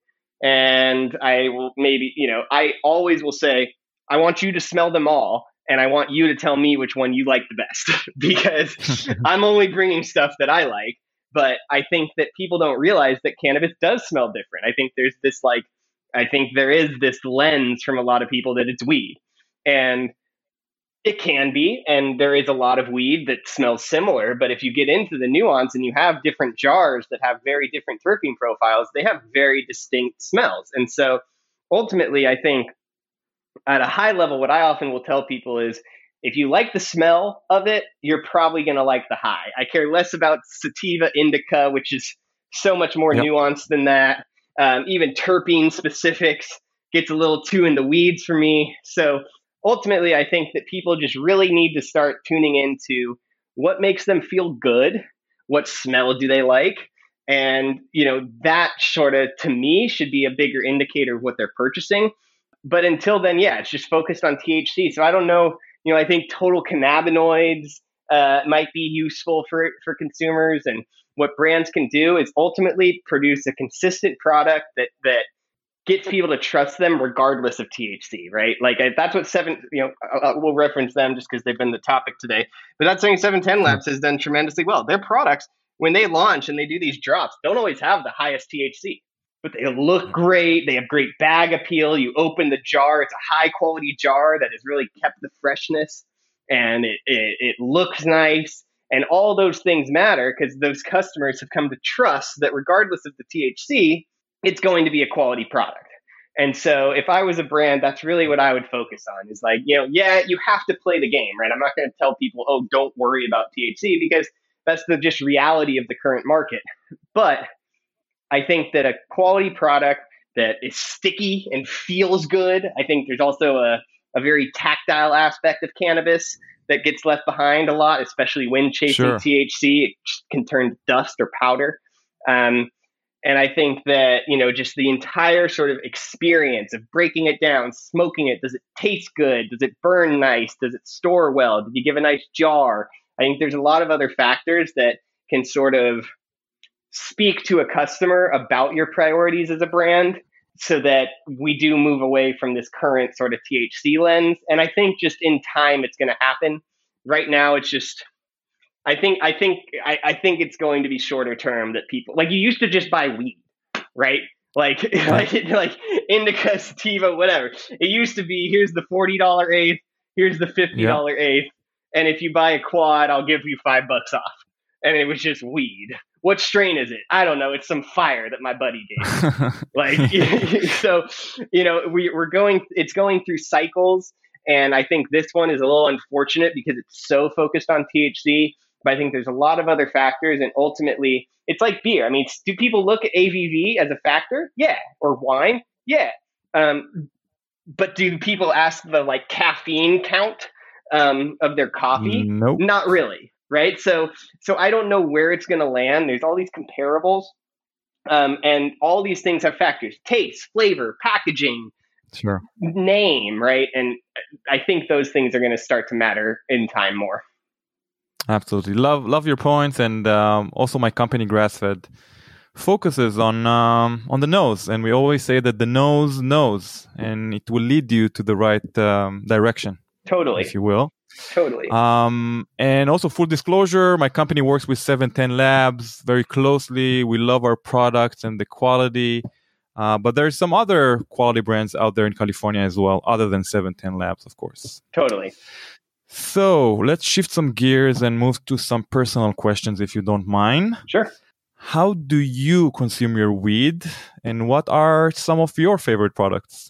And I will maybe, you know, I always will say, I want you to smell them all. And I want you to tell me which one you like the best, because I'm only bringing stuff that I like. But I think that people don't realize that cannabis does smell different. I think there's this like, I think there is this lens from a lot of people that it's weed. And it can be, and there is a lot of weed that smells similar, but if you get into the nuance and you have different jars that have very different terpene profiles, they have very distinct smells. And so ultimately, I think at a high level, what I often will tell people is, if you like the smell of it, you're probably going to like the high. I care less about sativa indica, which is so much more yep. nuanced than that. Um, even terpene specifics gets a little too in the weeds for me. So ultimately, I think that people just really need to start tuning into what makes them feel good, What smell do they like? And, you know, that sort of, to me, should be a bigger indicator of what they're purchasing. But until then, yeah, it's just focused on T H C. So I don't know, you know, I think total cannabinoids uh, might be useful for for consumers. And what brands can do is ultimately produce a consistent product that that gets people to trust them regardless of T H C, right? Like I, that's what seven, you know, uh, we'll reference them just because they've been the topic today. But that's something seven ten Labs has done tremendously well. Their products, when they launch and they do these drops, don't always have the highest T H C, but they look great. They have great bag appeal. You open the jar, it's a high quality jar that has really kept the freshness, and it it, it looks nice. And all those things matter because those customers have come to trust that regardless of the T H C, it's going to be a quality product. And so if I was a brand, that's really what I would focus on is like, you know, yeah, you have to play the game, right? I'm not going to tell people, oh, don't worry about T H C because that's the just reality of the current market. But I think that a quality product that is sticky and feels good, I think there's also a, a very tactile aspect of cannabis that gets left behind a lot, especially when chasing Sure. T H C. It can turn to dust or powder. Um, and I think that, you know, just the entire sort of experience of breaking it down, smoking it, does it taste good? Does it burn nice? Does it store well? Did you give a nice jar? I think there's a lot of other factors that can sort of speak to a customer about your priorities as a brand so that we do move away from this current sort of T H C lens. And I think just in time, it's going to happen. Right now, it's just, I think, I think, I, I think it's going to be shorter term that people, like you used to just buy weed, right? Like, like, like indica, sativa, whatever. It used to be, here's the forty dollars eighth, here's the fifty dollars yeah. eighth. And if you buy a quad, I'll give you five bucks off. And it was just weed. What strain is it? I don't know. It's some fire that my buddy gave. Like, so, you know, we, we're going, it's going through cycles. And I think this one is a little unfortunate because it's so focused on T H C. But I think there's a lot of other factors. And ultimately, it's like beer. I mean, do people look at A B V as a factor? Yeah. Or wine? Yeah. Um, but do people ask the like caffeine count um, of their coffee? Nope. Not really. Right. So so I don't know where it's going to land. There's all these comparables um, and all these things have factors: taste, flavor, packaging, sure, name. Right. And I think those things are going to start to matter in time more. Absolutely. Love love your points. And um, also my company Grassfed focuses on um, on the nose. And we always say that the nose knows and it will lead you to the right um, direction. Totally. If you will. Totally. Um, and also full disclosure, my company works with seven ten Labs very closely. We love our products and the quality. Uh, but there's some other quality brands out there in California as well, other than seven ten Labs, of course. Totally. So let's shift some gears and move to some personal questions, if you don't mind. Sure. How do you consume your weed? And what are some of your favorite products?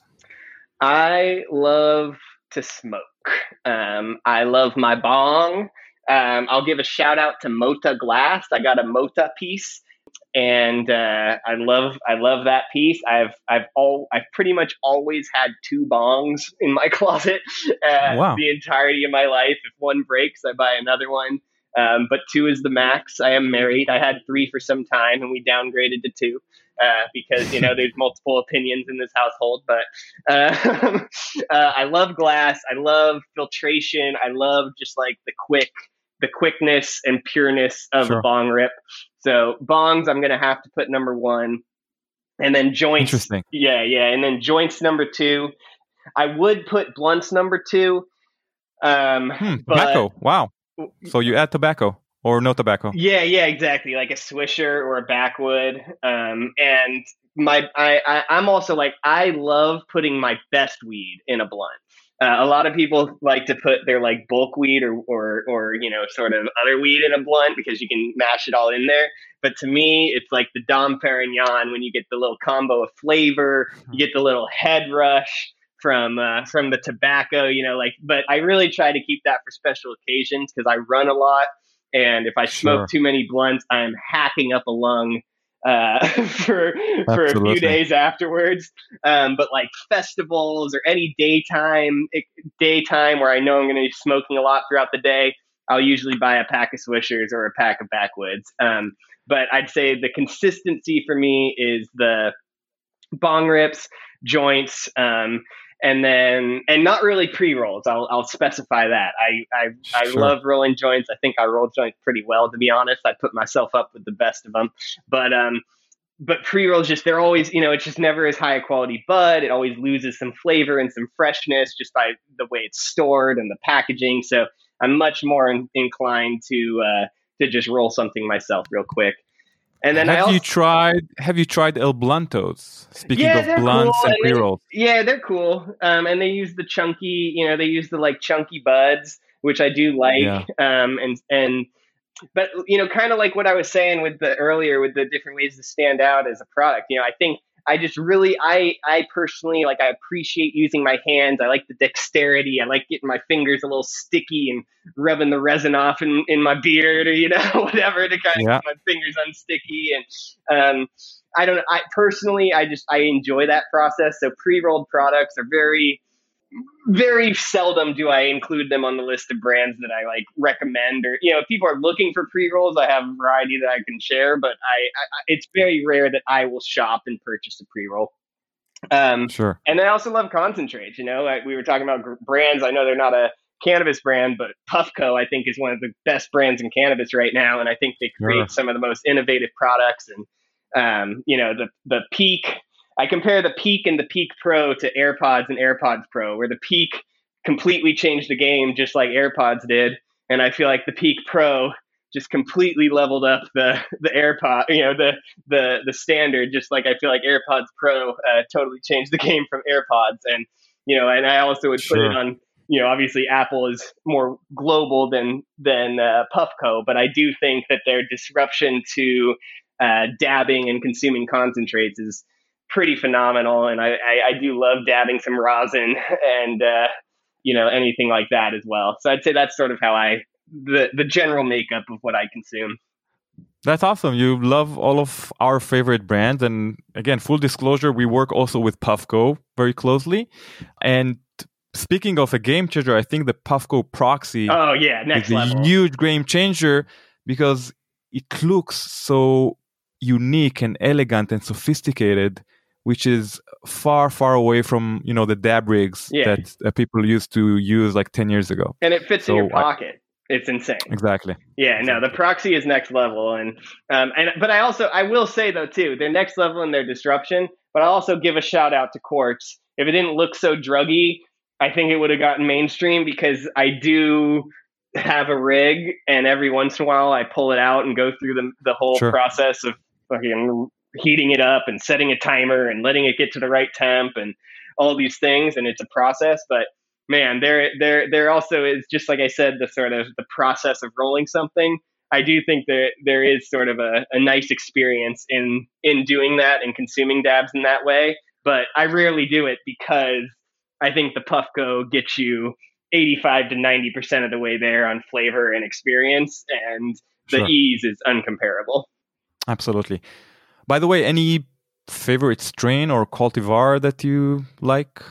I love to smoke. Um, I love my bong. Um, I'll give a shout out to Mota Glass. I got a Mota piece, and uh, I love I love that piece. I've I've all I've pretty much always had two bongs in my closet uh, wow. the entirety of my life. If one breaks, I buy another one. Um, but two is the max. I am married. I had three for some time, and we downgraded to two. Uh, because, you know, there's multiple opinions in this household, but uh, uh, I love glass. I love filtration. I love just like the quick, the quickness and pureness of sure. a bong rip. So bongs, I'm going to have to put number one, and then joints. Interesting. Yeah. Yeah. And then joints number two. I would put blunts number two. Um, hmm, but, tobacco. Wow. So you add tobacco. Or no tobacco. Yeah, yeah, exactly. Like a Swisher or a Backwood. Um, and my, I, I, I'm also like, I love putting my best weed in a blunt. Uh, a lot of people like to put their like bulk weed or, or, or, you know, sort of other weed in a blunt because you can mash it all in there. But to me, it's like the Dom Perignon when you get the little combo of flavor, you get the little head rush from uh, from the tobacco, you know, like. But I really try to keep that for special occasions because I run a lot. And if I smoke sure. too many blunts, I'm hacking up a lung uh, for for Absolutely. a few days afterwards. Um, but like festivals or any daytime daytime where I know I'm going to be smoking a lot throughout the day, I'll usually buy a pack of Swishers or a pack of Backwoods. Um, but I'd say the consistency for me is the bong rips, joints, um, and then and not really pre-rolls. I'll I'll specify that. I I, I Sure. love rolling joints. I think I roll joints pretty well, to be honest. I put myself up with the best of them, but um, but pre-rolls just they're always, you know, it's just never as high a quality bud. It always loses some flavor and some freshness just by the way it's stored and the packaging. So I'm much more in, inclined to uh, to just roll something myself real quick. And then have I also, you tried? Have you tried El Blantos? Speaking yeah, of they're blunts cool, and and they- pre-rolls. yeah, they're cool. Um, and they use the chunky, you know, they use the like chunky buds, which I do like. Yeah. Um, and and but you know, kind of like what I was saying with the earlier with the different ways to stand out as a product. You know, I think I just really, I I personally like I appreciate using my hands. I like the dexterity. I like getting my fingers a little sticky and rubbing the resin off in, in my beard or you know whatever to kind of Yeah. get my fingers unsticky. And um, I don't. I personally, I just I enjoy that process. So pre-rolled products are very very seldom do I include them on the list of brands that I like recommend, or you know, if people are looking for pre-rolls, I have a variety that I can share, but I, I it's very rare that I will shop and purchase a pre-roll. Um, Sure. and I also love concentrates. You know, like we were talking about gr- brands. I know they're not a cannabis brand, but Puffco I think is one of the best brands in cannabis right now, and I think they create Sure. some of the most innovative products. And um, you know, the the Peak. I compare the Peak and the Peak Pro to AirPods and AirPods Pro, where the Peak completely changed the game, just like AirPods did, and I feel like the Peak Pro just completely leveled up the the AirPod, you know, the the the standard. Just like I feel like AirPods Pro uh, totally changed the game from AirPods, and you know, and I also would put Sure. it on. You know, obviously Apple is more global than than uh, Puffco, but I do think that their disruption to uh, dabbing and consuming concentrates is pretty phenomenal, and I, I, I do love dabbing some rosin and uh, you know anything like that as well. So I'd say that's sort of how I the the general makeup of what I consume. That's awesome. You love all of our favorite brands. And again, full disclosure, we work also with Puffco very closely. And speaking of a game changer, I think the Puffco Proxy Oh yeah, next is a level. huge game changer because it looks so unique and elegant and sophisticated, which is far, far away from, you know, the dab rigs Yeah. that uh, people used to use like ten years ago. And it fits in So your I- pocket. It's insane. Exactly. Yeah, no, the Proxy is next level, and um, and but I also I will say though too, they're next level in their disruption. But I also give a shout out to Quartz. If it didn't look so druggy, I think it would have gotten mainstream because I do have a rig, and every once in a while I pull it out and go through the the whole Sure. process of fucking heating it up and setting a timer and letting it get to the right temp and all these things, and it's a process, but. Man, there, there, there also is, just like I said, the sort of the process of rolling something. I do think that there is sort of a, a nice experience in in doing that and consuming dabs in that way. But I rarely do it because I think the Puffco gets you eighty-five to ninety percent of the way there on flavor and experience, and the Sure. ease is uncomparable. Absolutely. By the way, any favorite strain or cultivar that you like?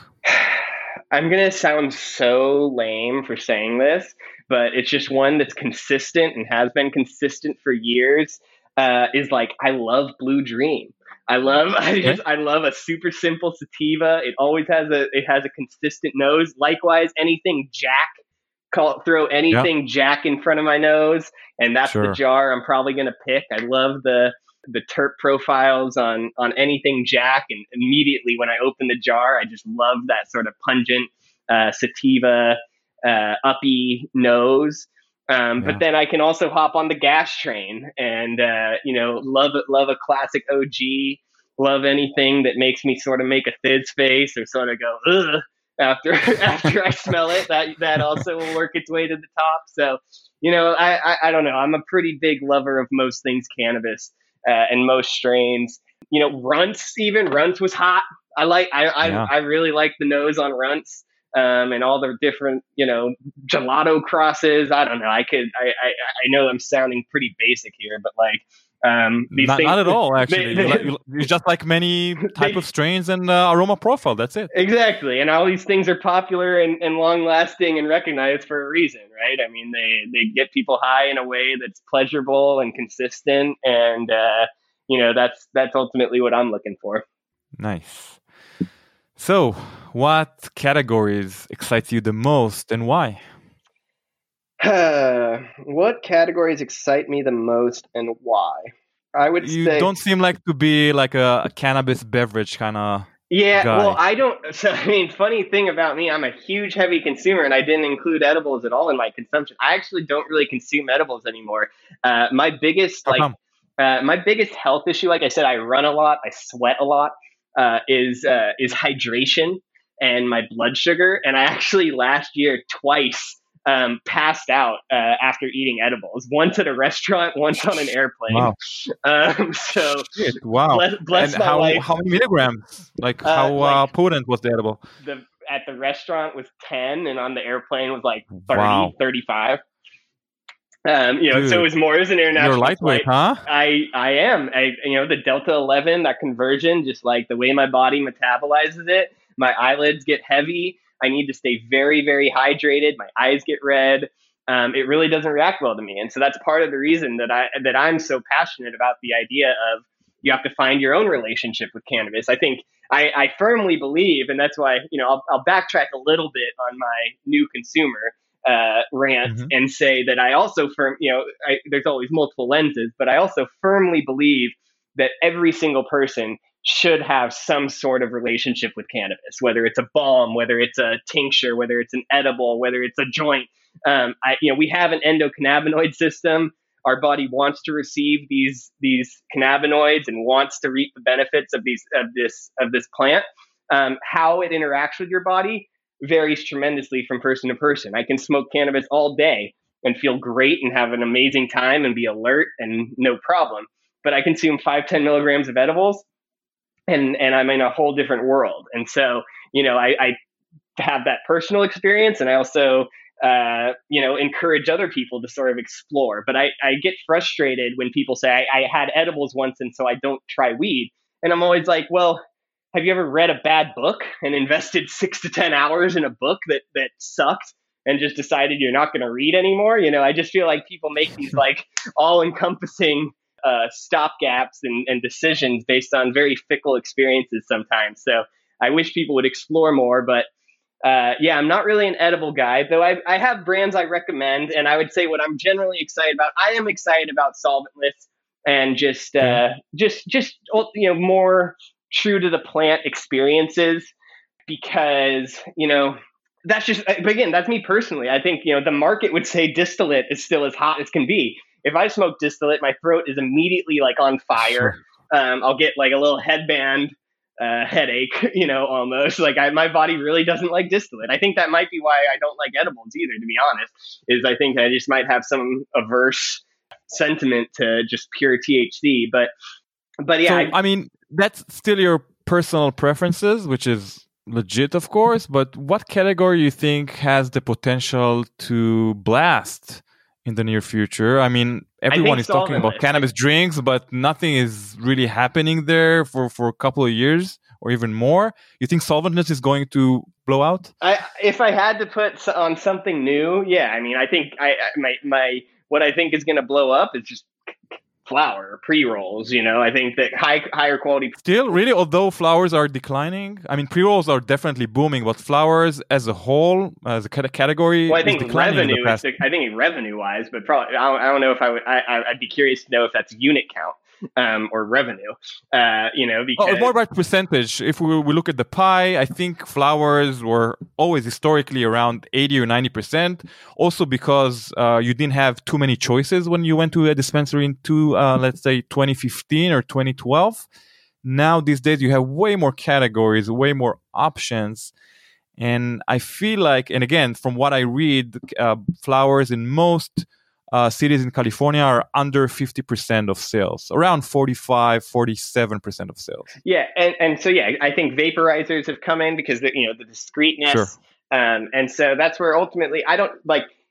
I'm going to sound so lame for saying this, but it's just one that's consistent and has been consistent for years. Uh, is like, I love Blue Dream. I love, I just, I love a super simple sativa. It always has a, it has a consistent nose. Likewise, anything Jack, call throw anything Jack in front of my nose, and that's Sure. the jar I'm probably going to pick. I love the, the terp profiles on on anything Jack, and immediately when I open the jar, I just love that sort of pungent uh, sativa uh, uppy nose. Um, Yeah. But then I can also hop on the gas train, and uh, you know, love it, love a classic O G. Love anything that makes me sort of make a fizz face or sort of go ugh after after I smell it. That that also will work its way to the top. So you know, I I, I don't know. I'm a pretty big lover of most things cannabis. Uh, and most strains, you know, Runts even Runts was hot. I like, I, I, Yeah. I really like the nose on Runts, um, and all the different, you know, gelato crosses. I don't know. I could, I, I, I know I'm sounding pretty basic here, but like, Um, these not, things, not at all, actually. They, they, you, you just like many type they, of strains and uh, aroma profile. That's it. Exactly. And all these things are popular and, and long lasting and recognized for a reason, right? I mean, they, they get people high in a way that's pleasurable and consistent. And, uh, you know, that's, that's ultimately what I'm looking for. Nice. So what categories excites you the most and why? What categories excite me the most and why? I would you say... don't seem like to be like a, a cannabis beverage kind of Yeah, guy. Well, I don't... So, I mean, funny thing about me, I'm a huge heavy consumer, and I didn't include edibles at all in my consumption. I actually don't really consume edibles anymore. Uh, my biggest, How like, come? uh, my biggest health issue, like I said, I run a lot, I sweat a lot, uh, is uh, is hydration and my blood sugar. And I actually last year twice um, passed out uh, after eating edibles. Once at a restaurant, once on an airplane. Wow. Um, so Shit, wow. bless, bless and my how, life. how many milligrams? Like Uh, how like- uh, potent was the edible? The at the restaurant was ten, and on the airplane was like thirty, Wow. thirty-five. Um, you know, Dude, so it was more as an international You're lightweight, flight. huh? I I am. I you know the Delta eleven, that conversion, just like the way my body metabolizes it, my eyelids get heavy. I need to stay very very hydrated. My eyes get red. Um, it really doesn't react well to me, and so that's part of the reason that I that I'm so passionate about the idea of you have to find your own relationship with cannabis. I think I, I firmly believe, and that's why you know I'll, I'll backtrack a little bit on my new consumer uh, rant Mhm. and say that I also firm, you know, I, there's always multiple lenses, but I also firmly believe that every single person should have some sort of relationship with cannabis, whether it's a balm, whether it's a tincture, whether it's an edible, whether it's a joint. Um, I, you know, we have an endocannabinoid system. Our body wants to receive these these cannabinoids and wants to reap the benefits of these of this of this plant. Um, how it interacts with your body varies tremendously from person to person. I can smoke cannabis all day and feel great and have an amazing time and be alert and no problem. But I consume five, ten milligrams of edibles and, and I'm in a whole different world. And so, you know, I, I have that personal experience, and I also, uh, you know, encourage other people to sort of explore. But I, I get frustrated when people say, I, I had edibles once and so I don't try weed. And I'm always like, well, have you ever read a bad book and invested six to ten hours in a book that, that sucked and just decided you're not going to read anymore? You know, I just feel like people make these like all encompassing uh, stopgaps and, and decisions based on very fickle experiences sometimes. So I wish people would explore more, but uh, yeah, I'm not really an edible guy, though I, I have brands I recommend. And I would say what I'm generally excited about, I am excited about solventless and just, uh, just, just, you know, more true to the plant experiences, because, you know, that's just, but again, that's me personally. I think, you know, the market would say distillate is still as hot as can be. If I smoke distillate, my throat is immediately like on fire. Um, I'll get like a little headband uh, headache, you know, almost like I, my body really doesn't like distillate. I think that might be why I don't like edibles either, to be honest, is I think I just might have some averse sentiment to just pure T H C. But, but yeah, So, I, I mean, that's still your personal preferences, which is legit, of course. But what category you think has the potential to blast in the near future? I mean, everyone is talking about solventless. cannabis drinks, but nothing is really happening there for, for a couple of years or even more. You think solventless is going to blow out? I, if I had to put s- on something new, yeah, I mean, I think I, I my my what I think is going to blow up is just flower pre-rolls. You know, I think that high higher quality. Still, really, although flowers are declining, I mean, pre-rolls are definitely booming, but flowers as a whole, as a cate- category, Well, I is think declining in the revenue. Is, past. I think revenue wise, but probably I don't, I don't know if I would. I, I- I'd be curious to know if that's unit count um, or revenue. Uh, you know, because Oh, more about percentage. If we, we look at the pie, I think flowers were always historically around eighty or ninety percent. Also because uh, you didn't have too many choices when you went to a dispensary into, uh, let's say, twenty fifteen or twenty twelve. Now, these days, you have way more categories, way more options. And I feel like, and again, from what I read, uh, flowers in most uh, cities in California are under fifty percent of sales, around forty-five, forty-seven percent of sales. yeah, and, and so yeah, I think vaporizers have come in because the, you know the discreteness, Sure. um, and so that's where ultimately I don't like.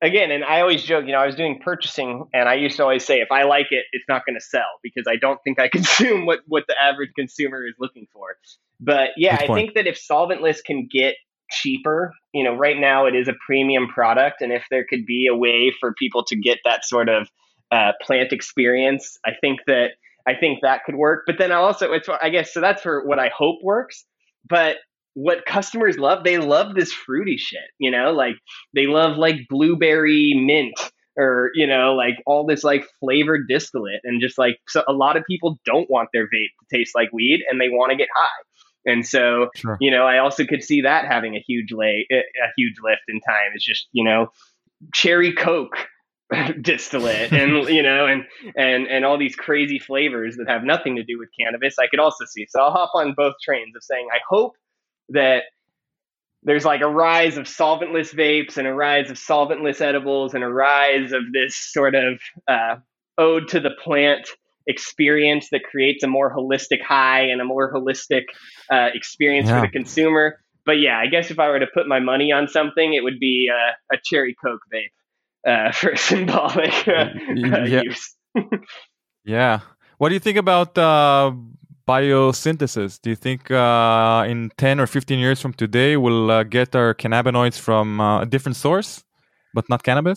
again, and I always joke, you know, I was doing purchasing and I used to always say, if I like it, it's not going to sell because I don't think I consume what, what the average consumer is looking for. But yeah, I think that if solventless can get cheaper, you know, right now it is a premium product. And if there could be a way for people to get that sort of uh, plant experience, I think that, I think that could work. But then also, it's, I guess, so that's for what I hope works. But what customers love, they love this fruity shit, you know, like they love like blueberry mint or, you know, like all this like flavored distillate. And just like, so a lot of people don't want their vape to taste like weed and they want to get high. And so, sure. you know, I also could see that having a huge lay, a huge lift in time. It's just, you know, cherry Coke distillate and, you know, and, and, and all these crazy flavors that have nothing to do with cannabis. I could also see. So I'll hop on both trains of saying, I hope that there's like a rise of solventless vapes and a rise of solventless edibles and a rise of this sort of uh, ode to the plant experience that creates a more holistic high and a more holistic uh, experience yeah. for the consumer. But yeah, I guess if I were to put my money on something, it would be uh, a cherry Coke vape uh, for symbolic uh, yeah. use. yeah. What do you think about uh, biosynthesis? Do you think uh, in ten or fifteen years from today, we'll uh, get our cannabinoids from uh, a different source, but not cannabis?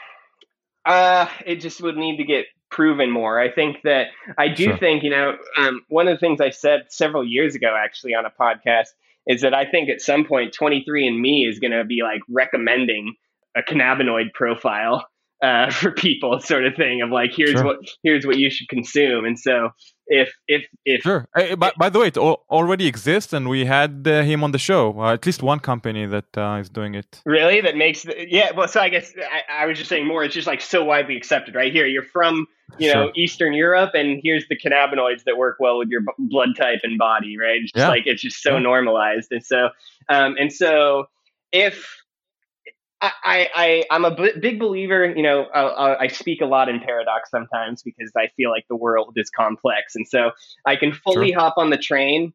Uh, it just would need to get proven more. I think that I do sure. think, you know, um, one of the things I said several years ago, actually on a podcast, is that I think at some point twenty-three and me is going to be like recommending a cannabinoid profile uh, for people, sort of thing of like, here's sure. what, here's what you should consume. And so if, if, if, sure. Hey, by, by the way, it al- already exists and we had uh, him on the show, uh, at least one company that uh, is doing it. Really? That makes, the, yeah. Well, so I guess I, I was just saying more, it's just like so widely accepted right here. You're from, you know, sure. Eastern Europe, and here's the cannabinoids that work well with your b- blood type and body, right? It's just yeah. like, it's just so yeah. normalized. And so, um, and so if, I, I, I'm a b- big believer, you know, uh, I speak a lot in paradox sometimes because I feel like the world is complex. And so I can fully sure. hop on the train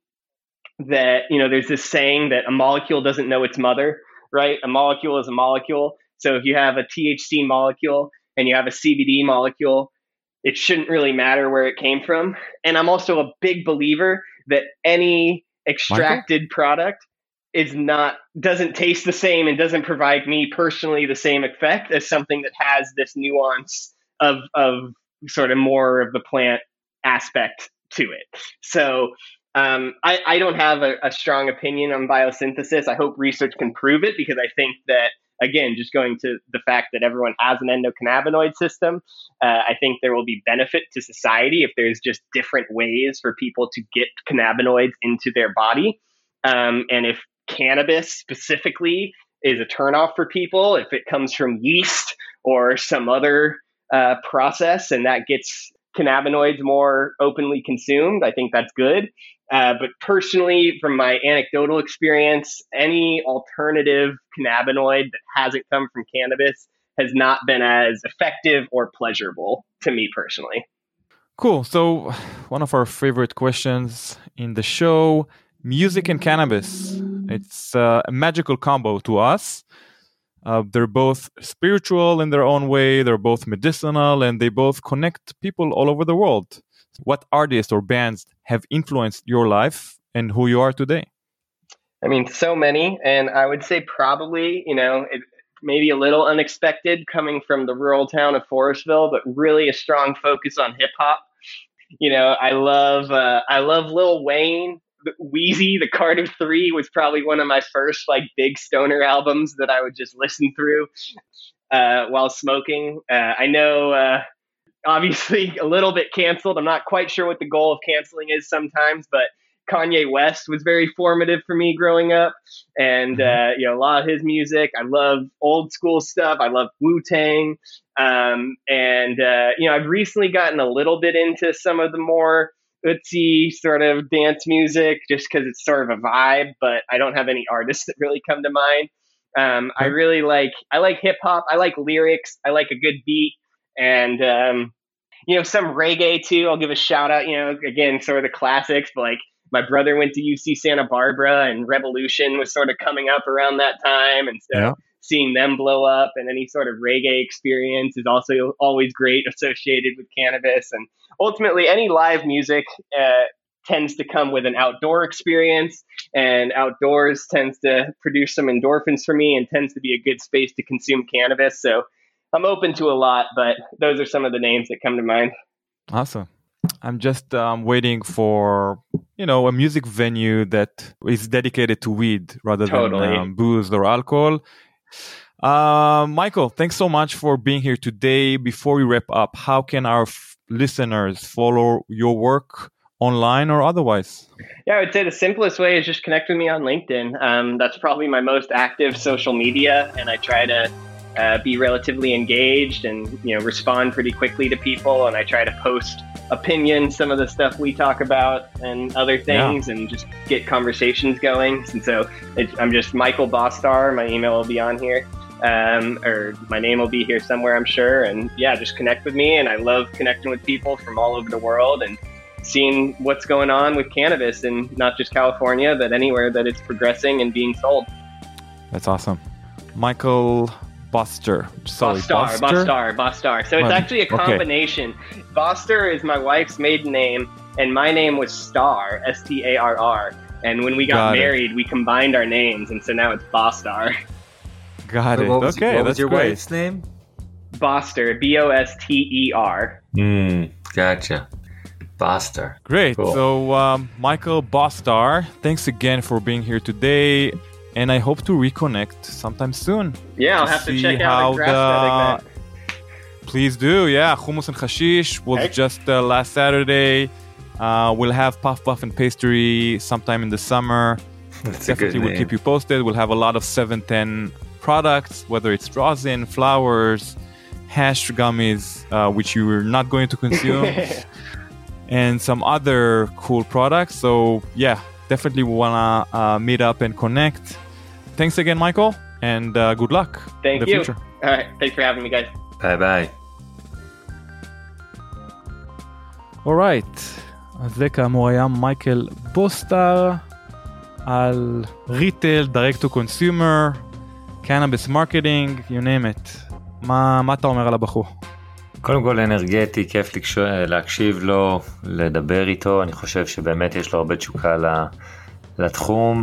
that, you know, there's this saying that a molecule doesn't know its mother, right? A molecule is a molecule. So if you have a T H C molecule and you have a C B D molecule, it shouldn't really matter where it came from. And I'm also a big believer that any extracted Michael? product is not, doesn't taste the same and doesn't provide me personally the same effect as something that has this nuance of, of sort of more of the plant aspect to it. So um, I, I don't have a, a strong opinion on biosynthesis. I hope research can prove it because I think that, again, just going to the fact that everyone has an endocannabinoid system, uh, I think there will be benefit to society if there's just different ways for people to get cannabinoids into their body. Um, and if cannabis specifically is a turnoff for people, if it comes from yeast or some other uh, process and that gets cannabinoids more openly consumed, I think that's good. Uh, but personally, from my anecdotal experience, any alternative cannabinoid that hasn't come from cannabis has not been as effective or pleasurable to me personally. Cool. So one of our favorite questions in the show, music and cannabis. It's uh, a magical combo to us. Uh, they're both spiritual in their own way. They're both medicinal, and they both connect people all over the world. What artists or bands have influenced your life and who you are today? I mean, so many. And I would say probably, you know, it, maybe a little unexpected coming from the rural town of Forestville, but really a strong focus on hip hop. You know, I love, uh, I love Lil Wayne. Wheezy, the Carter Three was probably one of my first like big stoner albums that I would just listen through uh, while smoking. Uh, I know, uh, obviously, a little bit canceled. I'm not quite sure what the goal of canceling is sometimes, but Kanye West was very formative for me growing up, and uh, you know, a lot of his music. I love old school stuff. I love Wu-Tang, um, and uh, you know, I've recently gotten a little bit into some of the more Ötzi sort of dance music just because it's sort of a vibe, but I don't have any artists that really come to mind. Um, I really like, I like hip hop. I like lyrics. I like a good beat and, um, you know, some reggae too. I'll give a shout out, you know, again, sort of the classics, but like my brother went to U C Santa Barbara and Revolution was sort of coming up around that time. And so, yeah. seeing them blow up, and any sort of reggae experience is also always great associated with cannabis. And ultimately, any live music uh, tends to come with an outdoor experience, and outdoors tends to produce some endorphins for me and tends to be a good space to consume cannabis. So I'm open to a lot, but those are some of the names that come to mind. Awesome. I'm just um, waiting for, you know, a music venue that is dedicated to weed rather Totally. than um, booze or alcohol. Uh, Michael, thanks so much for being here today. Before we wrap up, how can our f- listeners follow your work online or otherwise? Yeah, I would say the simplest way is just connect with me on LinkedIn. Um, that's probably my most active social media, and I try to uh, be relatively engaged and, you know, respond pretty quickly to people. And I try to post opinions, some of the stuff we talk about and other things, yeah. and just get conversations going. And so it, I'm just Michael Bostar. My email will be on here. Um, or my name will be here somewhere, I'm sure. And yeah, just connect with me. And I love connecting with people from all over the world and seeing what's going on with cannabis in not just California, but anywhere that it's progressing and being sold. That's awesome. Michael Bostar. Sorry, Bostar, Bostar, Bostar. So it's actually a combination. Okay. Bostar is my wife's maiden name, and my name was Starr, S T A R R. And when we got, got married, it. we combined our names, and so now it's Bostar. Got so it. What was, okay, what that's was your great. wife's name? Bostar, B O S T E R. Hmm, gotcha. Bostar. Great. Cool. So, um, Michael Bostar, thanks again for being here today, and I hope to reconnect sometime soon. Yeah, I'll have to check out the grass the... Please do. Yeah, Hummus and Hashish was hey. just uh, last Saturday. Uh, we'll have Puff Puff and Pastry sometime in the summer. That's Definitely, a good we'll name. keep you posted. We'll have a lot of seven ten products, whether it's rosin, flowers, hash gummies, uh, which you are not going to consume. And some other cool products. So yeah, definitely we want to uh, meet up and connect. Thanks again, Michael, and uh, good luck Thank in the you. future. All right, thanks for having me, guys. Bye bye. Alright, אז זה כאמור היה מייקל בוסטר על ריטייל, direct to consumer, cannabis marketing, you name it. מה, מה אתה אומר על הבחור? קודם כל אנרגטי, כיף להקשיב לו, לדבר איתו, אני חושב שבאמת יש לו הרבה תשוקה לתחום,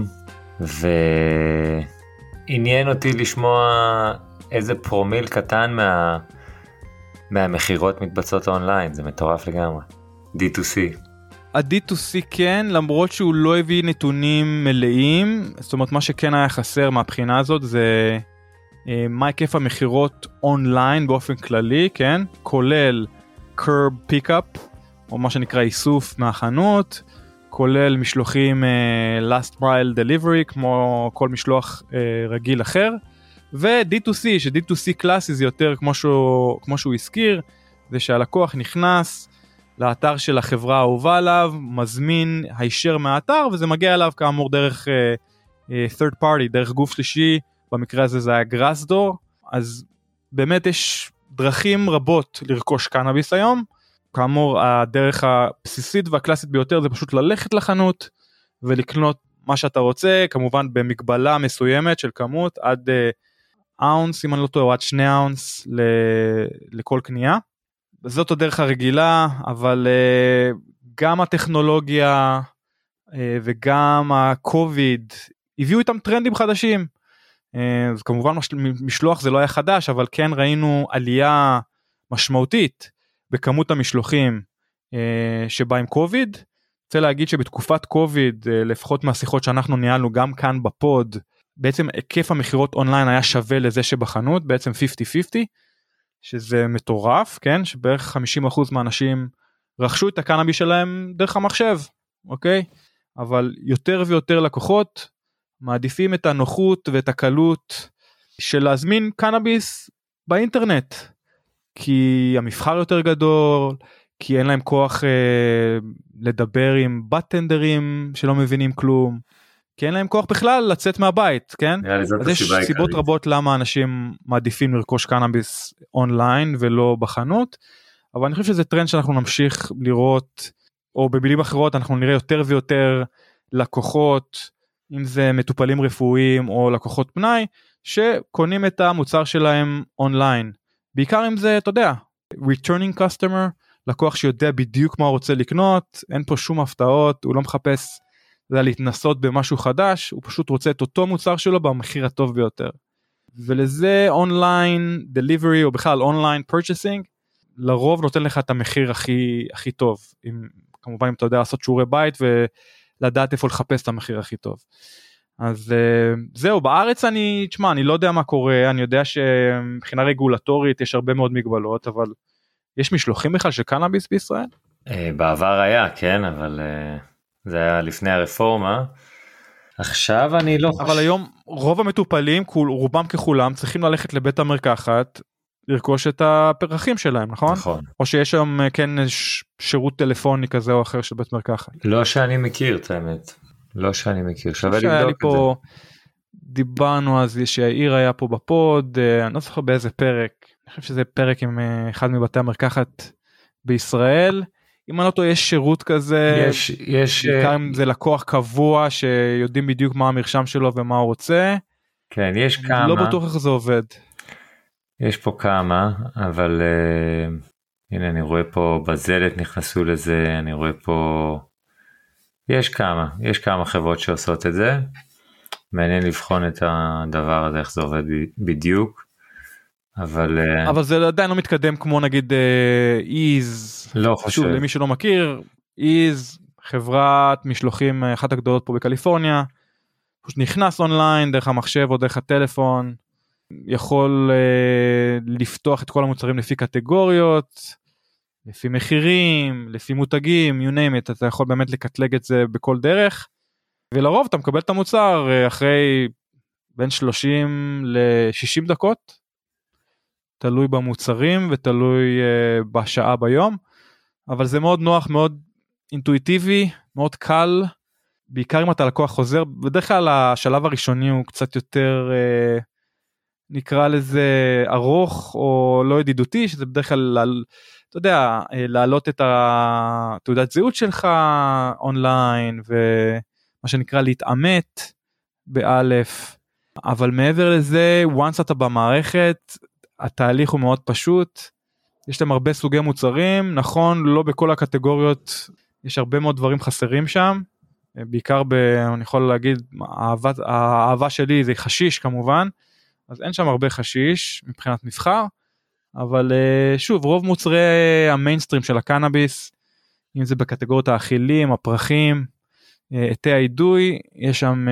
ועניין אותי לשמוע איזה פרומיל קטן מה, מהמחירות מתבצעות אונליין, זה מטורף לגמרי, די טו סי. ה-די טו סי כן, למרות שהוא לא הביא נתונים מלאים, זאת אומרת מה שכן היה חסר מהבחינה הזאת זה... מה היקף המחירות אונליין באופן כללי, כן? כולל curb pickup, או מה שנקרא איסוף מהחנות, כולל משלוחים uh, last mile delivery, כמו כל משלוח uh, רגיל אחר, ו-די טו סי, ש-די טו סי קלאסי זה יותר כמו שהוא, כמו שהוא הזכיר, זה שהלקוח נכנס לאתר של החברה האהובה עליו, מזמין הישר מהאתר, וזה מגיע אליו כאמור דרך uh, uh, third party, דרך גוף שלישי, במקרה הזה זה היה גראסדור. אז באמת יש דרכים רבות לרכוש קנאביס היום. כאמור, הדרך הבסיסית והקלאסית ביותר זה פשוט ללכת לחנות ולקנות מה שאתה רוצה, כמובן במגבלה מסוימת של כמות, עד אאונס, אם אני לא טועה, עד שני אאונס לכל קנייה. זאת הדרך הרגילה, אבל גם הטכנולוגיה וגם הקוביד הביאו איתם טרנדים חדשים. אז כמובן משלוח זה לא היה חדש, אבל כן ראינו עלייה משמעותית בכמות המשלוחים שבא עם קוביד. רוצה להגיד שבתקופת קוביד, לפחות מהשיחות שאנחנו ניהלנו גם כאן בפוד, בעצם היקף המחירות אונליין היה שווה לזה שבחנות, בעצם חמישים חמישים, שזה מטורף, כן? שבערך חמישים אחוז מהאנשים רכשו את הקנאביס שלהם דרך המחשב, אוקיי? אבל יותר ויותר לקוחות מעדיפים את הנוחות ואת הקלות של להזמין קנאביס באינטרנט, כי המבחר יותר גדול, כי אין להם כוח אה, לדבר עם בטנדרים שלא מבינים כלום, כי אין להם כוח בכלל לצאת מהבית, כן? אז יש סיבות רבות למה אנשים מעדיפים לרכוש קנאביס אונליין ולא בחנות, אבל אני חושב שזה טרנד שאנחנו נמשיך לראות, או במילים אחרות אנחנו נראה יותר ויותר לקוחות, אם זה מטופלים רפואיים או לקוחות פנאי, שקונים את המוצר שלהם אונליין, בעיקר אם זה, אתה יודע, returning customer, לקוח שיודע בדיוק מה הוא רוצה לקנות, אין פה שום הפתעות, הוא לא מחפש זה להתנסות במשהו חדש, הוא פשוט רוצה את אותו מוצר שלו במחיר הטוב ביותר. ולזה אונליין דליברי או בכלל אונליין פרצ'סינג, לרוב נותן לך את המחיר הכי, הכי טוב, אם, כמובן אם אתה יודע לעשות שיעורי בית ולדעת איפה לחפש את המחיר הכי טוב. אז זהו, בארץ אני, תשמע, אני לא יודע מה קורה, אני יודע שמבחינה רגולטורית יש הרבה מאוד מגבלות, אבל יש משלוחים בכלל של קנאביס בישראל? בעבר היה, כן, אבל זה היה לפני הרפורמה. עכשיו אני לא חושב. אבל היום רוב המטופלים, רובם ככולם, צריכים ללכת לבית המרקחת, לרכוש את הפרחים שלהם, נכון? נכון. או שיש שם כן שירות טלפוני כזה או אחר של בית מרקחת? לא שאני מכיר את האמת. לא שאני מכיר. שווה לבדוק את זה. דיברנו אז שהעיר היה פה בפוד, אני לא זוכר באיזה פרק, אני חושב שזה פרק עם אחד מבתי המרקחת בישראל, אם אני לא טועה יש שירות כזה, יש, יש, בעיקר אם זה לקוח קבוע שיודעים בדיוק מה המרשם שלו ומה הוא רוצה, כן, יש כמה, לא בטוח איך זה עובד. יש פה כמה, אבל uh, הנה אני רואה פה בזלת נכנסו לזה, אני רואה פה, יש כמה, יש כמה חברות שעושות את זה, מעניין לבחון את הדבר הזה, איך זה עובד בדיוק, אבל... אבל זה עדיין לא מתקדם כמו נגיד איז, לא חושב. שוב, למי שלא מכיר, איז, חברת משלוחים אחת הגדולות פה בקליפורניה, פשוט נכנס אונליין דרך המחשב או דרך הטלפון, יכול לפתוח את כל המוצרים לפי קטגוריות, לפי מחירים, לפי מותגים, you name it, אתה יכול באמת לקטלג את זה בכל דרך, ולרוב אתה מקבל את המוצר אחרי בין שלושים ל-שישים דקות, תלוי במוצרים ותלוי uh, בשעה ביום, אבל זה מאוד נוח, מאוד אינטואיטיבי, מאוד קל, בעיקר אם אתה לקוח חוזר, בדרך כלל השלב הראשוני הוא קצת יותר, uh, נקרא לזה ארוך או לא ידידותי, שזה בדרך כלל, אתה יודע, להעלות את התעודת זהות שלך אונליין, ומה שנקרא להתאמת באלף, אבל מעבר לזה, once אתה במערכת, התהליך הוא מאוד פשוט, יש להם הרבה סוגי מוצרים, נכון, לא בכל הקטגוריות, יש הרבה מאוד דברים חסרים שם, בעיקר ב, אני יכול להגיד, האהבה, האהבה שלי זה חשיש כמובן, אז אין שם הרבה חשיש מבחינת מבחר, אבל שוב, רוב מוצרי המיינסטרים של הקנאביס, אם זה בקטגוריות האכילים, הפרחים, עטי האידוי, יש שם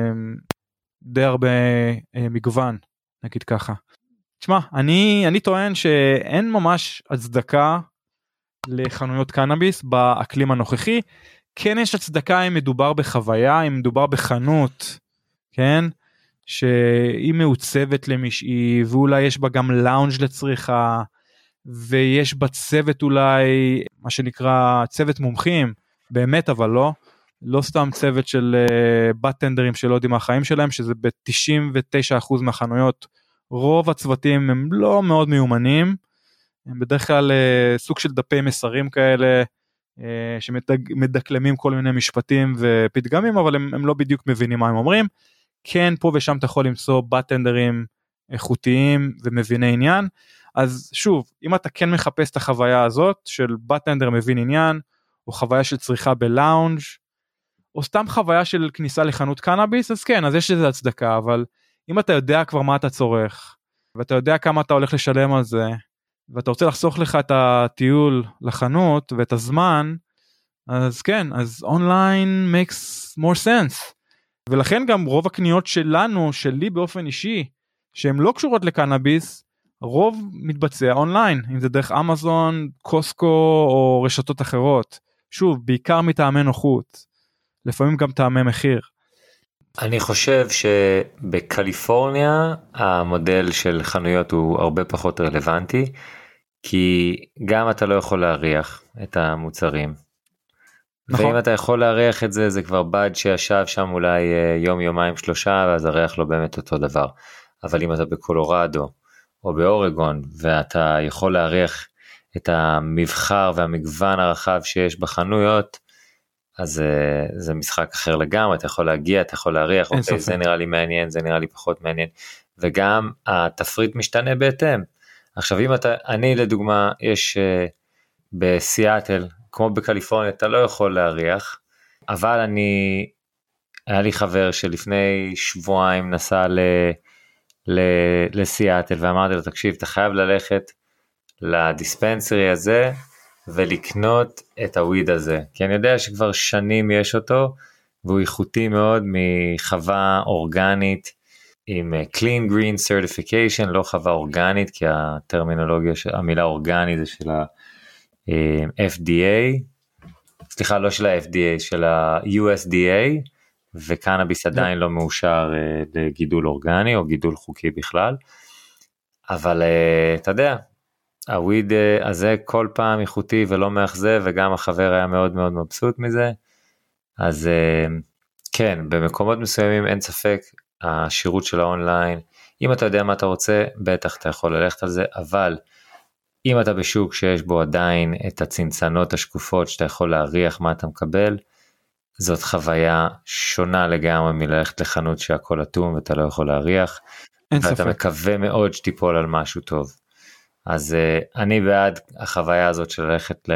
די הרבה מגוון, נגיד ככה. תשמע, אני, אני טוען שאין ממש הצדקה לחנויות קנאביס באקלים הנוכחי, כן יש הצדקה אם מדובר בחוויה, אם מדובר בחנות, כן? שהיא מעוצבת למשהי, ואולי יש בה גם לאונג' לצריכה, ויש בה צוות אולי, מה שנקרא צוות מומחים, באמת אבל לא, לא סתם צוות של בטנדרים שלא יודעים מה החיים שלהם, שזה ב-תשעים ותשעה אחוז מהחנויות, רוב הצוותים הם לא מאוד מיומנים, הם בדרך כלל סוג של דפי מסרים כאלה, שמדקלמים כל מיני משפטים ופתגמים, אבל הם, הם לא בדיוק מבינים מה הם אומרים, כן פה ושם אתה יכול למצוא בטנדרים איכותיים ומביני עניין, אז שוב, אם אתה כן מחפש את החוויה הזאת, של בטנדר מבין עניין, או חוויה של צריכה בלאונג', או סתם חוויה של כניסה לחנות קנאביס, אז כן, אז יש איזה הצדקה, אבל אם אתה יודע כבר מה אתה צורך, ואתה יודע כמה אתה הולך לשלם על זה, ואתה רוצה לחסוך לך את הטיול לחנות, ואת הזמן, אז כן, אז אונליין makes more sense. ולכן גם רוב הקניות שלנו, שלי באופן אישי, שהן לא קשורות לקנאביס, רוב מתבצע אונליין, אם זה דרך אמזון, קוסקו, או רשתות אחרות. שוב, בעיקר מטעמי נוחות, לפעמים גם טעמי מחיר. אני חושב שבקליפורניה המודל של חנויות הוא הרבה פחות רלוונטי, כי גם אתה לא יכול להריח את המוצרים. נכון. ואם אתה יכול להריח את זה, זה כבר בד שישב שם אולי יום, יומיים, שלושה, ואז הריח לא באמת אותו דבר. אבל אם אתה בקולורדו או באורגון, ואתה יכול להריח את המבחר והמגוון הרחב שיש בחנויות, אז זה משחק אחר לגמרי, אתה יכול להגיע, אתה יכול להריח, אוקיי, זה נראה לי מעניין, זה נראה לי פחות מעניין, וגם התפריט משתנה בהתאם. עכשיו אם אתה, אני לדוגמה, יש uh, בסיאטל, כמו בקליפורניה, אתה לא יכול להריח, אבל אני, היה לי חבר שלפני שבועיים נסע ל, ל, לסיאטל, ואמרתי לו, תקשיב, אתה חייב ללכת לדיספנסרי הזה, ולקנות את הוויד הזה, כי אני יודע שכבר שנים יש אותו, והוא איכותי מאוד מחווה אורגנית, עם Clean Green Certification, לא חווה אורגנית, כי הטרמינולוגיה, המילה אורגנית זה של ה-F D A, סליחה, לא של ה-F D A, של ה-U S D A, וקנאביס עדיין לא מאושר לגידול אורגני, או גידול חוקי בכלל, אבל אתה יודע, הוויד הזה כל פעם איכותי ולא מאכזב, וגם החבר היה מאוד מאוד מבסוט מזה, אז כן, במקומות מסוימים אין ספק, השירות של האונליין, אם אתה יודע מה אתה רוצה, בטח אתה יכול ללכת על זה, אבל אם אתה בשוק שיש בו עדיין את הצנצנות השקופות, שאתה יכול להריח מה אתה מקבל, זאת חוויה שונה לגמרי מללכת לחנות שהכל אטום ואתה לא יכול להריח, ואתה ספק. מקווה מאוד שתיפול על משהו טוב. אז uh, אני בעד החוויה הזאת של ללכת ל...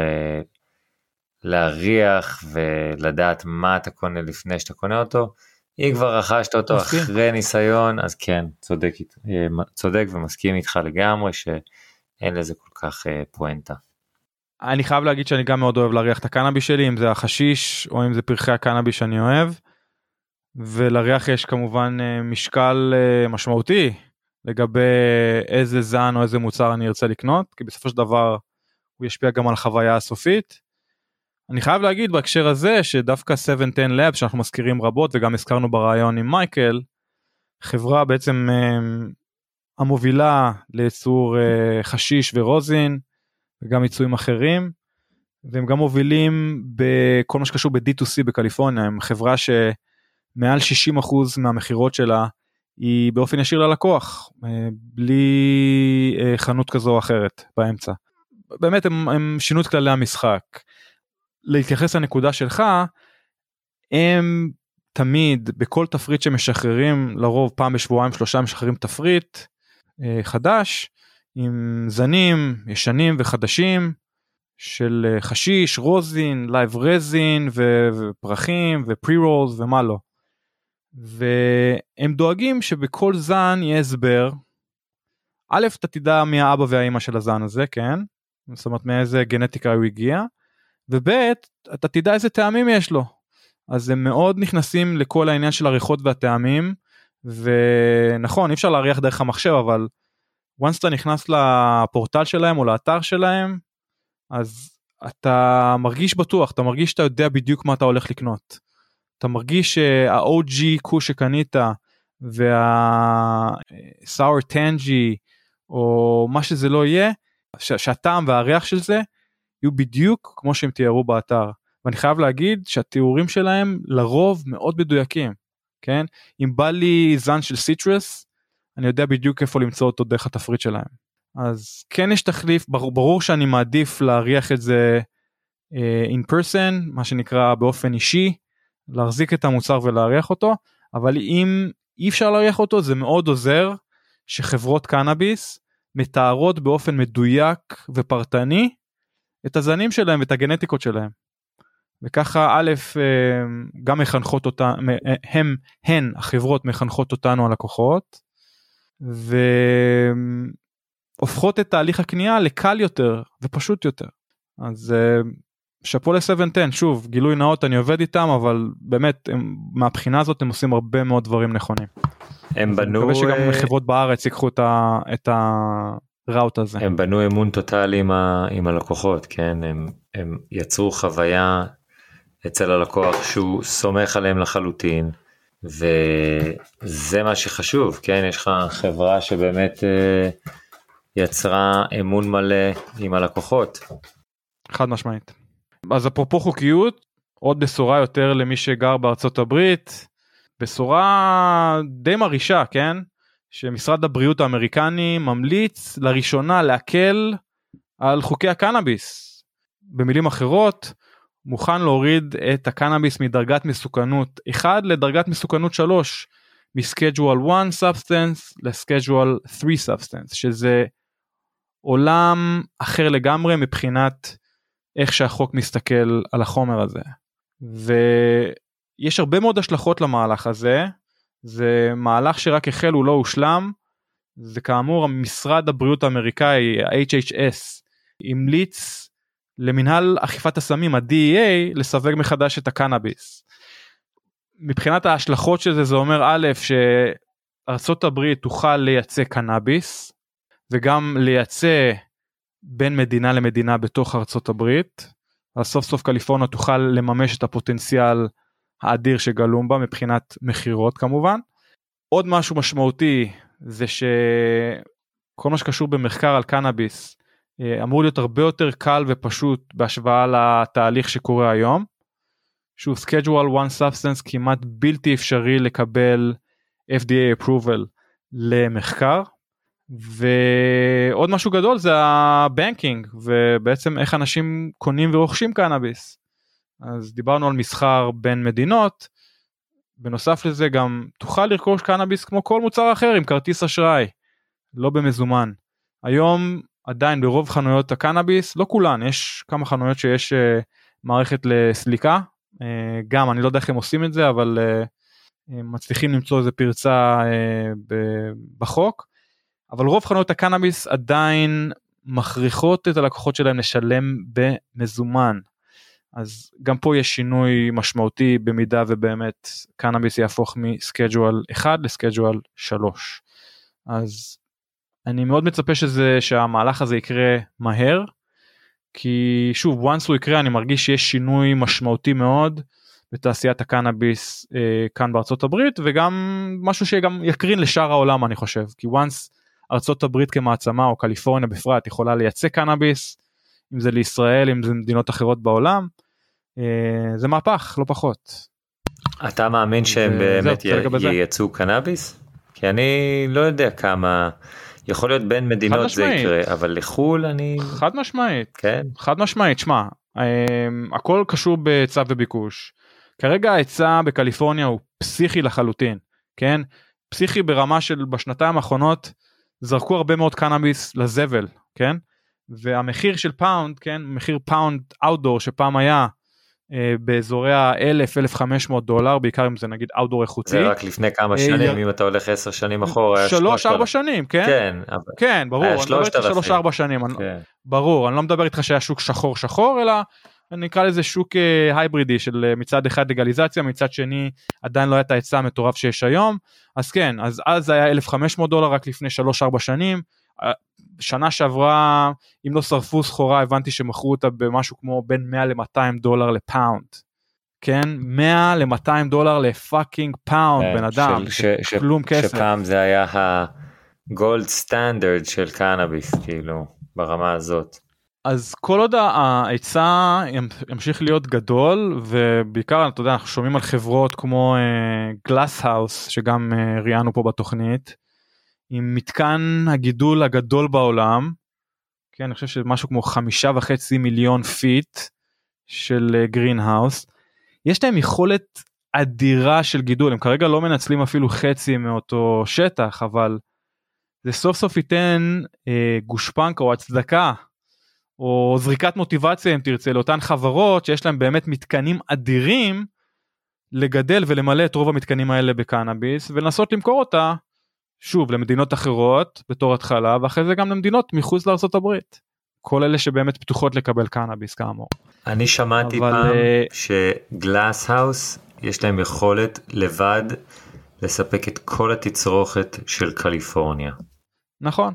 להריח ולדעת מה אתה קונה לפני שאתה קונה אותו, אם כבר רכשת אותו מסכים. אחרי ניסיון, אז כן, צודק, צודק ומסכים איתך לגמרי שאין לזה כל כך uh, פואנטה. אני חייב להגיד שאני גם מאוד אוהב להריח את הקנאביס שלי, אם זה החשיש או אם זה פרחי הקנאביס שאני אוהב, ולריח יש כמובן uh, משקל uh, משמעותי, לגבי איזה זן או איזה מוצר אני ארצה לקנות, כי בסופו של דבר הוא ישפיע גם על החוויה הסופית. אני חייב להגיד בהקשר הזה, שדווקא שבע עשר Labs, שאנחנו מזכירים רבות, וגם הזכרנו ברעיון עם מייקל, חברה בעצם המובילה לייצור חשיש ורוזין, וגם ייצורים אחרים, והם גם מובילים בכל מה שקשור ב-D to C בקליפורניה, הם חברה שמעל שישים אחוז מהמחירות שלה, היא באופן ישיר ללקוח, בלי חנות כזו או אחרת באמצע. באמת הם, הם שינו את כללי המשחק. להתייחס לנקודה שלך, הם תמיד, בכל תפריט שמשחררים, לרוב פעם בשבועיים שלושה משחררים תפריט חדש, עם זנים ישנים וחדשים, של חשיש, רוזין, לייב רזין, ופרחים, ופרי-רולס ומה לא. והם דואגים שבכל זן יהיה הסבר, א', אתה תדע מי האבא והאמא של הזן הזה, כן? זאת אומרת, מאיזה גנטיקה הוא הגיע, וב', אתה תדע איזה טעמים יש לו. אז הם מאוד נכנסים לכל העניין של הריחות והטעמים, ונכון, אי אפשר להריח דרך המחשב, אבל once אתה נכנס לפורטל שלהם או לאתר שלהם, אז אתה מרגיש בטוח, אתה מרגיש שאתה יודע בדיוק מה אתה הולך לקנות. אתה מרגיש שה-או ג'י קוש שקנית, וה-Sour Tangy, או מה שזה לא יהיה, שהטעם והריח של זה, יהיו בדיוק כמו שהם תיארו באתר. ואני חייב להגיד שהתיאורים שלהם לרוב מאוד מדויקים, כן? אם בא לי זן של סיטרס, אני יודע בדיוק איפה למצוא אותו דרך התפריט שלהם. אז כן יש תחליף, ברור, ברור שאני מעדיף להריח את זה uh, in person, מה שנקרא באופן אישי, להחזיק את המוצר ולהריח אותו, אבל אם אי אפשר להריח אותו, זה מאוד עוזר שחברות קנאביס מתארות באופן מדויק ופרטני את הזנים שלהם ואת הגנטיקות שלהם. וככה א', גם מחנכות אותה, הם, הן, החברות מחנכות אותנו הלקוחות, והופכות את תהליך הקנייה לקל יותר ופשוט יותר. אז שפו ל-שבע עשר, שוב, גילוי נאות, אני עובד איתם, אבל באמת, הם, מהבחינה הזאת הם עושים הרבה מאוד דברים נכונים. הם בנו... אני מקווה שגם חברות בארץ ייקחו את ה... את ה... ראוט הזה. הם בנו אמון טוטלי עם, ה, עם הלקוחות, כן? הם, הם יצרו חוויה אצל הלקוח שהוא סומך עליהם לחלוטין, וזה מה שחשוב, כן? יש לך חברה שבאמת אה, יצרה אמון מלא עם הלקוחות. חד משמעית. אז אפרופו חוקיות, עוד בשורה יותר למי שגר בארצות הברית, בשורה די מרישה, כן? שמשרד הבריאות האמריקני ממליץ לראשונה להקל על חוקי הקנאביס. במילים אחרות, מוכן להוריד את הקנאביס מדרגת מסוכנות אחת לדרגת מסוכנות שלוש, מ-Schedule one Substance ל-Schedule three Substance, שזה עולם אחר לגמרי מבחינת איך שהחוק מסתכל על החומר הזה. ויש הרבה מאוד השלכות למהלך הזה, זה מהלך שרק החל, הוא לא הושלם, זה כאמור משרד הבריאות האמריקאי, ה-H H S, המליץ למנהל אכיפת הסמים, ה-D E A, לסווג מחדש את הקנאביס. מבחינת ההשלכות של זה, זה אומר א', שארצות הברית תוכל לייצא קנאביס, וגם לייצא בין מדינה למדינה בתוך ארצות הברית, אז סוף סוף קליפורניה תוכל לממש את הפוטנציאל האדיר שגלום בה, מבחינת מחירות כמובן. עוד משהו משמעותי, זה שכל מה שקשור במחקר על קנאביס, אמור להיות הרבה יותר קל ופשוט, בהשוואה לתהליך שקורה היום, שהוא Schedule one Substance כמעט בלתי אפשרי לקבל F D A approval למחקר, ועוד משהו גדול זה הבנקינג, ובעצם איך אנשים קונים ורוכשים קנאביס. אז דיברנו על מסחר בין מדינות, בנוסף לזה גם תוכל לרכוש קנאביס כמו כל מוצר אחר עם כרטיס אשראי, לא במזומן. היום עדיין ברוב חנויות הקנאביס, לא כולן, יש כמה חנויות שיש uh, מערכת לסליקה, uh, גם אני לא יודע איך הם עושים את זה, אבל uh, מצליחים למצוא איזה פרצה uh, ב- בחוק, אבל רוב חנויות הקנאביס עדיין מכריחות את הלקוחות שלהם לשלם במזומן, אז גם פה יש שינוי משמעותי במידה ובאמת קנאביס יהפוך מסקייג'ואל אחד לסקייג'ואל שלוש. אז אני מאוד מצפה שזה, שהמהלך הזה יקרה מהר, כי שוב, once הוא יקרה, אני מרגיש שיש שינוי משמעותי מאוד בתעשיית הקנאביס אה, כאן בארצות הברית, וגם משהו שגם יקרין לשאר העולם, אני חושב, כי once ארצות הברית כמעצמה, או קליפורניה בפרט, יכולה לייצא קנאביס, אם זה לישראל, אם זה מדינות אחרות בעולם, אה, זה מהפך, לא פחות. אתה מאמין שהם באמת ייצאו קנאביס? כי אני לא יודע כמה, יכול להיות בין מדינות זה יקרה, אבל לחול אני... חד משמעית, כן. חד משמעית, שמה, הכל קשור בהיצע וביקוש. כרגע ההיצע בקליפורניה הוא פסיכי לחלוטין, כן? פסיכי ברמה של בשנתיים האחרונות, זרקו הרבה מאוד קנאביס לזבל, כן? והמחיר של פאונד, כן? מחיר פאונד אאוטדור שפעם היה, באזורי ה-אלף עד אלף וחמש מאות דולר, בעיקר אם זה נגיד אאוטדור איכותי. זה רק לפני כמה שנים, אם אתה הולך עשר שנים אחורה. שלוש, ארבע שנים, כן? כן. כן, ברור, אני מדבר איתך שלוש, ארבע שנים, ברור, אני לא מדבר איתך שהיה שוק שחור שחור, אלא אני נקרא לזה שוק הייברידי, של מצד אחד לגליזציה, מצד שני עדיין לא היה את ההיצע המטורף שיש היום, אז כן, אז אז היה אלף וחמש מאות דולר רק לפני שלוש, ארבע שנים, שנה שעברה, אם לא שרפו סחורה, הבנתי שמכרו אותה במשהו כמו בין מאה למאתיים דולר לפאונד, כן? מאה למאתיים דולר לפאקינג פאונד, בן אדם, כלום כסף. שפעם זה היה הגולד סטנדרד של קנאביס, כאילו, ברמה הזאת. אז כל עוד ההיצע ימשיך להיות גדול, ובעיקר, אתה יודע, אנחנו שומעים על חברות כמו גלאס האוס, שגם ראיינו פה בתוכנית, עם מתקן הגידול הגדול בעולם, כן, אני חושב שמשהו כמו חמישה וחצי מיליון פיט של גרינהאוס, יש להם יכולת אדירה של גידול, הם כרגע לא מנצלים אפילו חצי מאותו שטח, אבל זה סוף סוף ייתן אה, גושפנקה או הצדקה, או זריקת מוטיבציה אם תרצה, לאותן חברות שיש להם באמת מתקנים אדירים, לגדל ולמלא את רוב המתקנים האלה בקנאביס, ולנסות למכור אותה, שוב, למדינות אחרות בתור התחלה, ואחרי זה גם למדינות מחוץ לארצות הברית. כל אלה שבאמת פתוחות לקבל קנאביס כאמור. אני שמעתי אבל... פעם שגלאס האוס יש להם יכולת לבד לספק את כל התצרוכת של קליפורניה. נכון.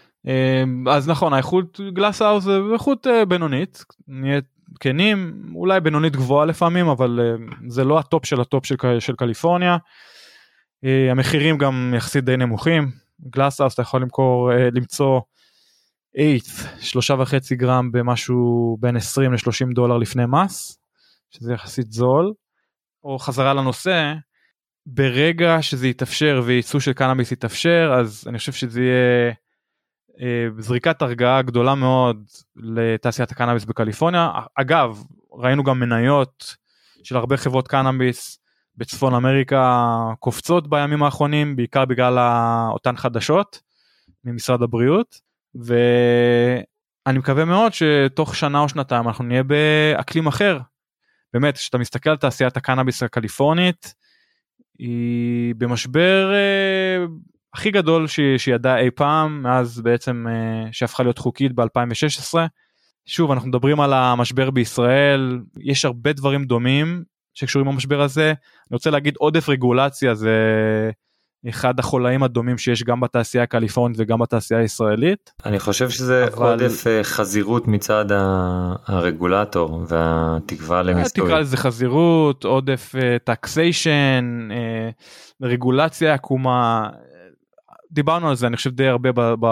אז נכון, האיכות גלאס האוס זה איכות בינונית, נהיה כנים, אולי בינונית גבוהה לפעמים, אבל זה לא הטופ של הטופ של, של קליפורניה. המחירים גם יחסית די נמוכים, גלאס-האוס אתה יכול למכור, למצוא אייטס, שלושה וחצי גרם במשהו בין עשרים לשלושים דולר לפני מס, שזה יחסית זול, או חזרה לנושא, ברגע שזה יתאפשר וייצוא של קנאביס יתאפשר, אז אני חושב שזה יהיה זריקת הרגעה גדולה מאוד לתעשיית הקנאביס בקליפורניה, אגב, ראינו גם מניות של הרבה חברות קנאביס, בצפון אמריקה קופצות בימים האחרונים, בעיקר בגלל אותן חדשות ממשרד הבריאות, ואני מקווה מאוד שתוך שנה או שנתיים אנחנו נהיה באקלים אחר. באמת, כשאתה מסתכל על תעשיית הקנאביס הקליפורנית, היא במשבר אה, הכי גדול שידעה אי פעם, מאז בעצם אה, שהפכה להיות חוקית ב-אלפיים ושש עשרה. שוב, אנחנו מדברים על המשבר בישראל, יש הרבה דברים דומים שקשורים במשבר הזה. אני רוצה להגיד, עודף רגולציה זה אחד החולאים הדומים שיש גם בתעשייה הקליפורנית וגם בתעשייה הישראלית. אני חושב שזה אבל... עודף חזירות מצד הרגולטור והתקווה למיסוי. תקרא לזה חזירות, עודף טקסיישן, רגולציה עקומה, דיברנו על זה אני חושב די הרבה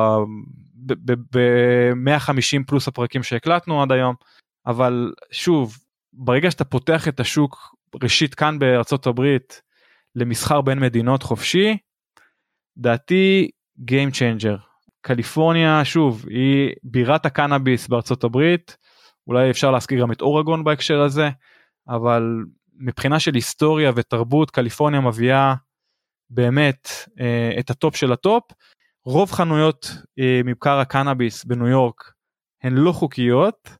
ב-מאה וחמישים פלוס הפרקים שהקלטנו עד היום, אבל שוב, ברגע שאתה פותח את השוק, ראשית כאן בארצות הברית, למסחר בין מדינות חופשי, דעתי Game Changer. קליפורניה, שוב, היא בירת הקנאביס בארצות הברית, אולי אפשר להזכיר גם את אורגון בהקשר הזה, אבל מבחינה של היסטוריה ותרבות, קליפורניה מביאה באמת אה, את הטופ של הטופ. רוב חנויות אה, מבקר הקנאביס בניו יורק הן לא חוקיות,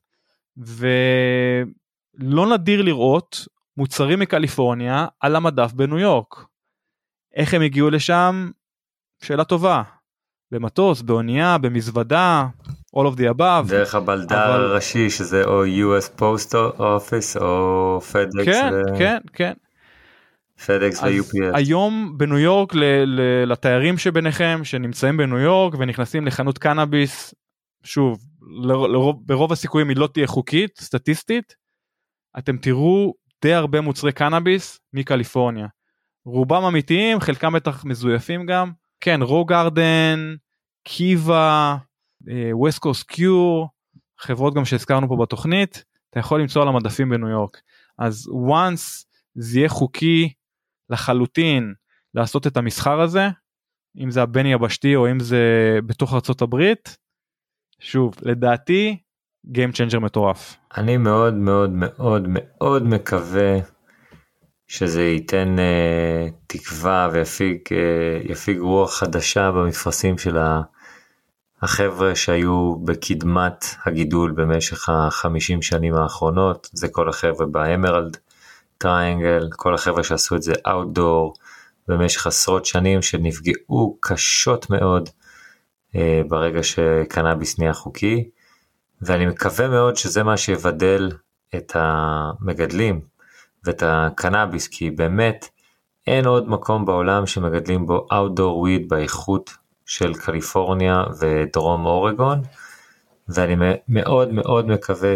ולא נדיר לראות מוצרים מקליפורניה על המדף בניו יורק. איך הם הגיעו לשם? שאלה טובה. במטוס, באונייה, במזוודה, all of the above. דרך הבלדר אבל... הראשי, שזה או יו אס Post Office או FedEx. כן, ו... כן, כן. FedEx ו-יו פי אס. היום בניו יורק, ל- ל- לתיירים שביניכם, שנמצאים בניו יורק ונכנסים לחנות קנאביס, שוב, ל- לרוב, ברוב הסיכויים היא לא תהיה חוקית, סטטיסטית, אתם תראו די הרבה מוצרי קנאביס מקליפורניה. רובם אמיתיים, חלקם בטח מזויפים גם. כן, רו גארדן, קיבה, ווסט קוסט קיור, חברות גם שהזכרנו פה בתוכנית, אתה יכול למצוא על המדפים בניו יורק. אז once זה יהיה חוקי לחלוטין לעשות את המסחר הזה, אם זה הבין יבשתי או אם זה בתוך ארצות הברית, שוב, לדעתי, Game Changer מטורף. אני מאוד מאוד מאוד מאוד מקווה שזה ייתן uh, תקווה ויפיג uh, יפיג רוח חדשה במפרסים של החבר'ה שהיו בקדמת הגידול במשך החמישים שנים האחרונות. זה כל החבר'ה באמרלד טריינגל, כל החבר'ה שעשו את זה אאוטדור במשך עשרות שנים, שנפגעו קשות מאוד uh, ברגע שקנאביס נהיה חוקי. ואני מקווה מאוד שזה מה שיבדל את המגדלים ואת הקנאביס, כי באמת אין עוד מקום בעולם שמגדלים בו outdoor weed באיכות של קליפורניה ודרום אורגון, ואני מאוד מאוד מקווה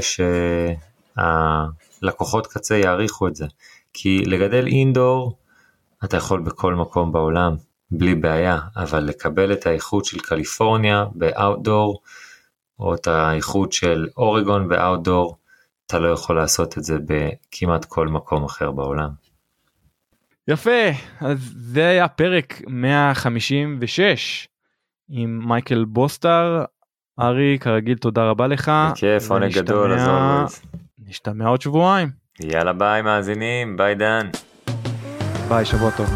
שהלקוחות קצה יעריכו את זה, כי לגדל אינדור אתה יכול בכל מקום בעולם בלי בעיה, אבל לקבל את האיכות של קליפורניה באוטדור, או את האיכות של אורגון באוטדור, אתה לא יכול לעשות את זה בכמעט כל מקום אחר בעולם. יפה, אז זה היה פרק מאה חמישים ושש עם מייקל בוסטר. ארי, כרגיל תודה רבה לך. בכיף, עונג גדול, אז always. נשתמע עוד שבועיים. יאללה ביי מאזינים, ביי דן. ביי, שבוע טוב.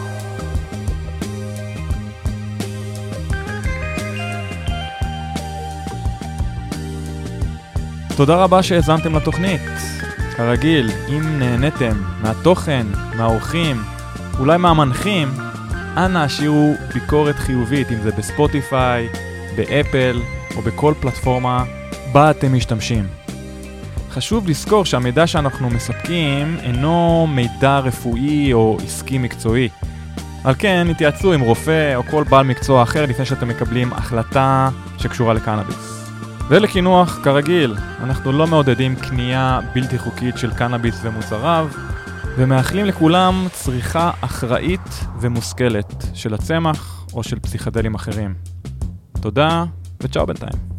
תודה רבה שהזנתם לתוכנית. כרגיל, אם נהניתם מהתוכן, מהאורחים, אולי מהמנחים, אנא השאירו ביקורת חיובית, אם זה בספוטיפיי, באפל או בכל פלטפורמה בה אתם משתמשים. חשוב לזכור שהמידע שאנחנו מספקים אינו מידע רפואי או עסקי מקצועי. על כן, התייעצו עם רופא או כל בעל מקצוע אחר לפני שאתם מקבלים החלטה שקשורה לקנאביס. ולכינוח, כרגיל, אנחנו לא מעודדים קנייה בלתי חוקית של קנאביס ומוצריו, ומאחלים לכולם צריכה אחראית ומושכלת של הצמח או של פסיכדלים אחרים. תודה וצ'או בינתיים.